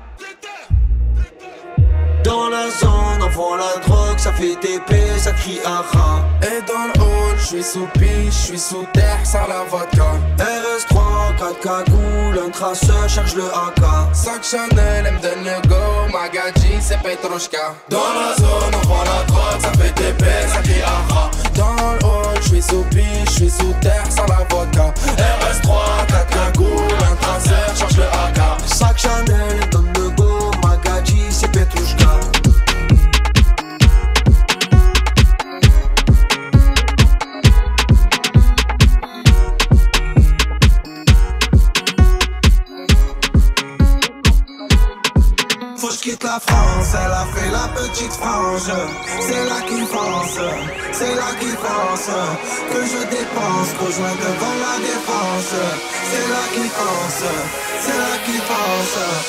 [SPEAKER 22] Dans la zone, on vend la drogue, ça fait TP, ça crie aha.
[SPEAKER 14] Et dans le hall, j'suis sous piche, j'suis sous terre, sans la vodka.
[SPEAKER 22] RS3, 4 cagoules, un traceur cherche le AK.
[SPEAKER 14] Sac Chanel, elle me donne le go, Magadji, c'est Petrushka. Dans la zone, on vend la drogue, ça fait TP, ça crie aha. Dans le hall, j'suis sous piche, j'suis sous terre, sans la vodka. RS3, 4 cagoules, un traceur cherche le AK.
[SPEAKER 22] Sac Chanel, elle donne le go, Magadji, c'est Petrushka.
[SPEAKER 24] Faut que j'quitte la France, elle a fait la petite frange. C'est là qu'il pense, c'est là qu'il pense que je dépense, rejoins devant la défense. C'est là qu'il pense, c'est là qu'il pense.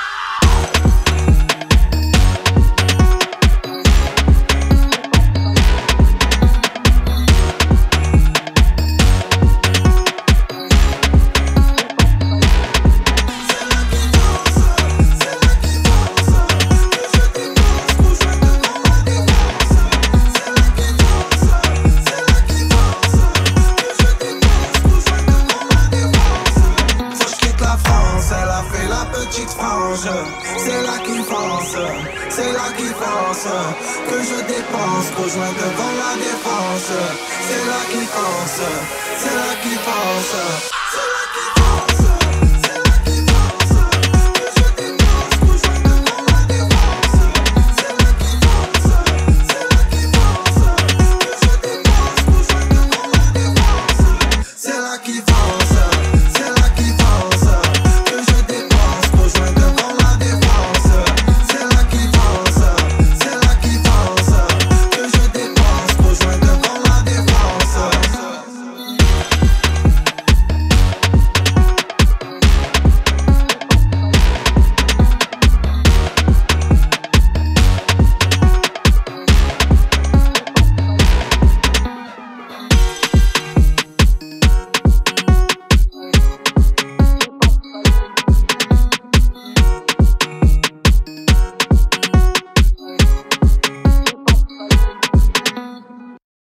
[SPEAKER 24] C'est là qu'il pense, c'est là qu'il pense que je dépense, rejoins devant la défense. C'est là qu'il pense, c'est là qu'il pense, c'est là qu'il pense.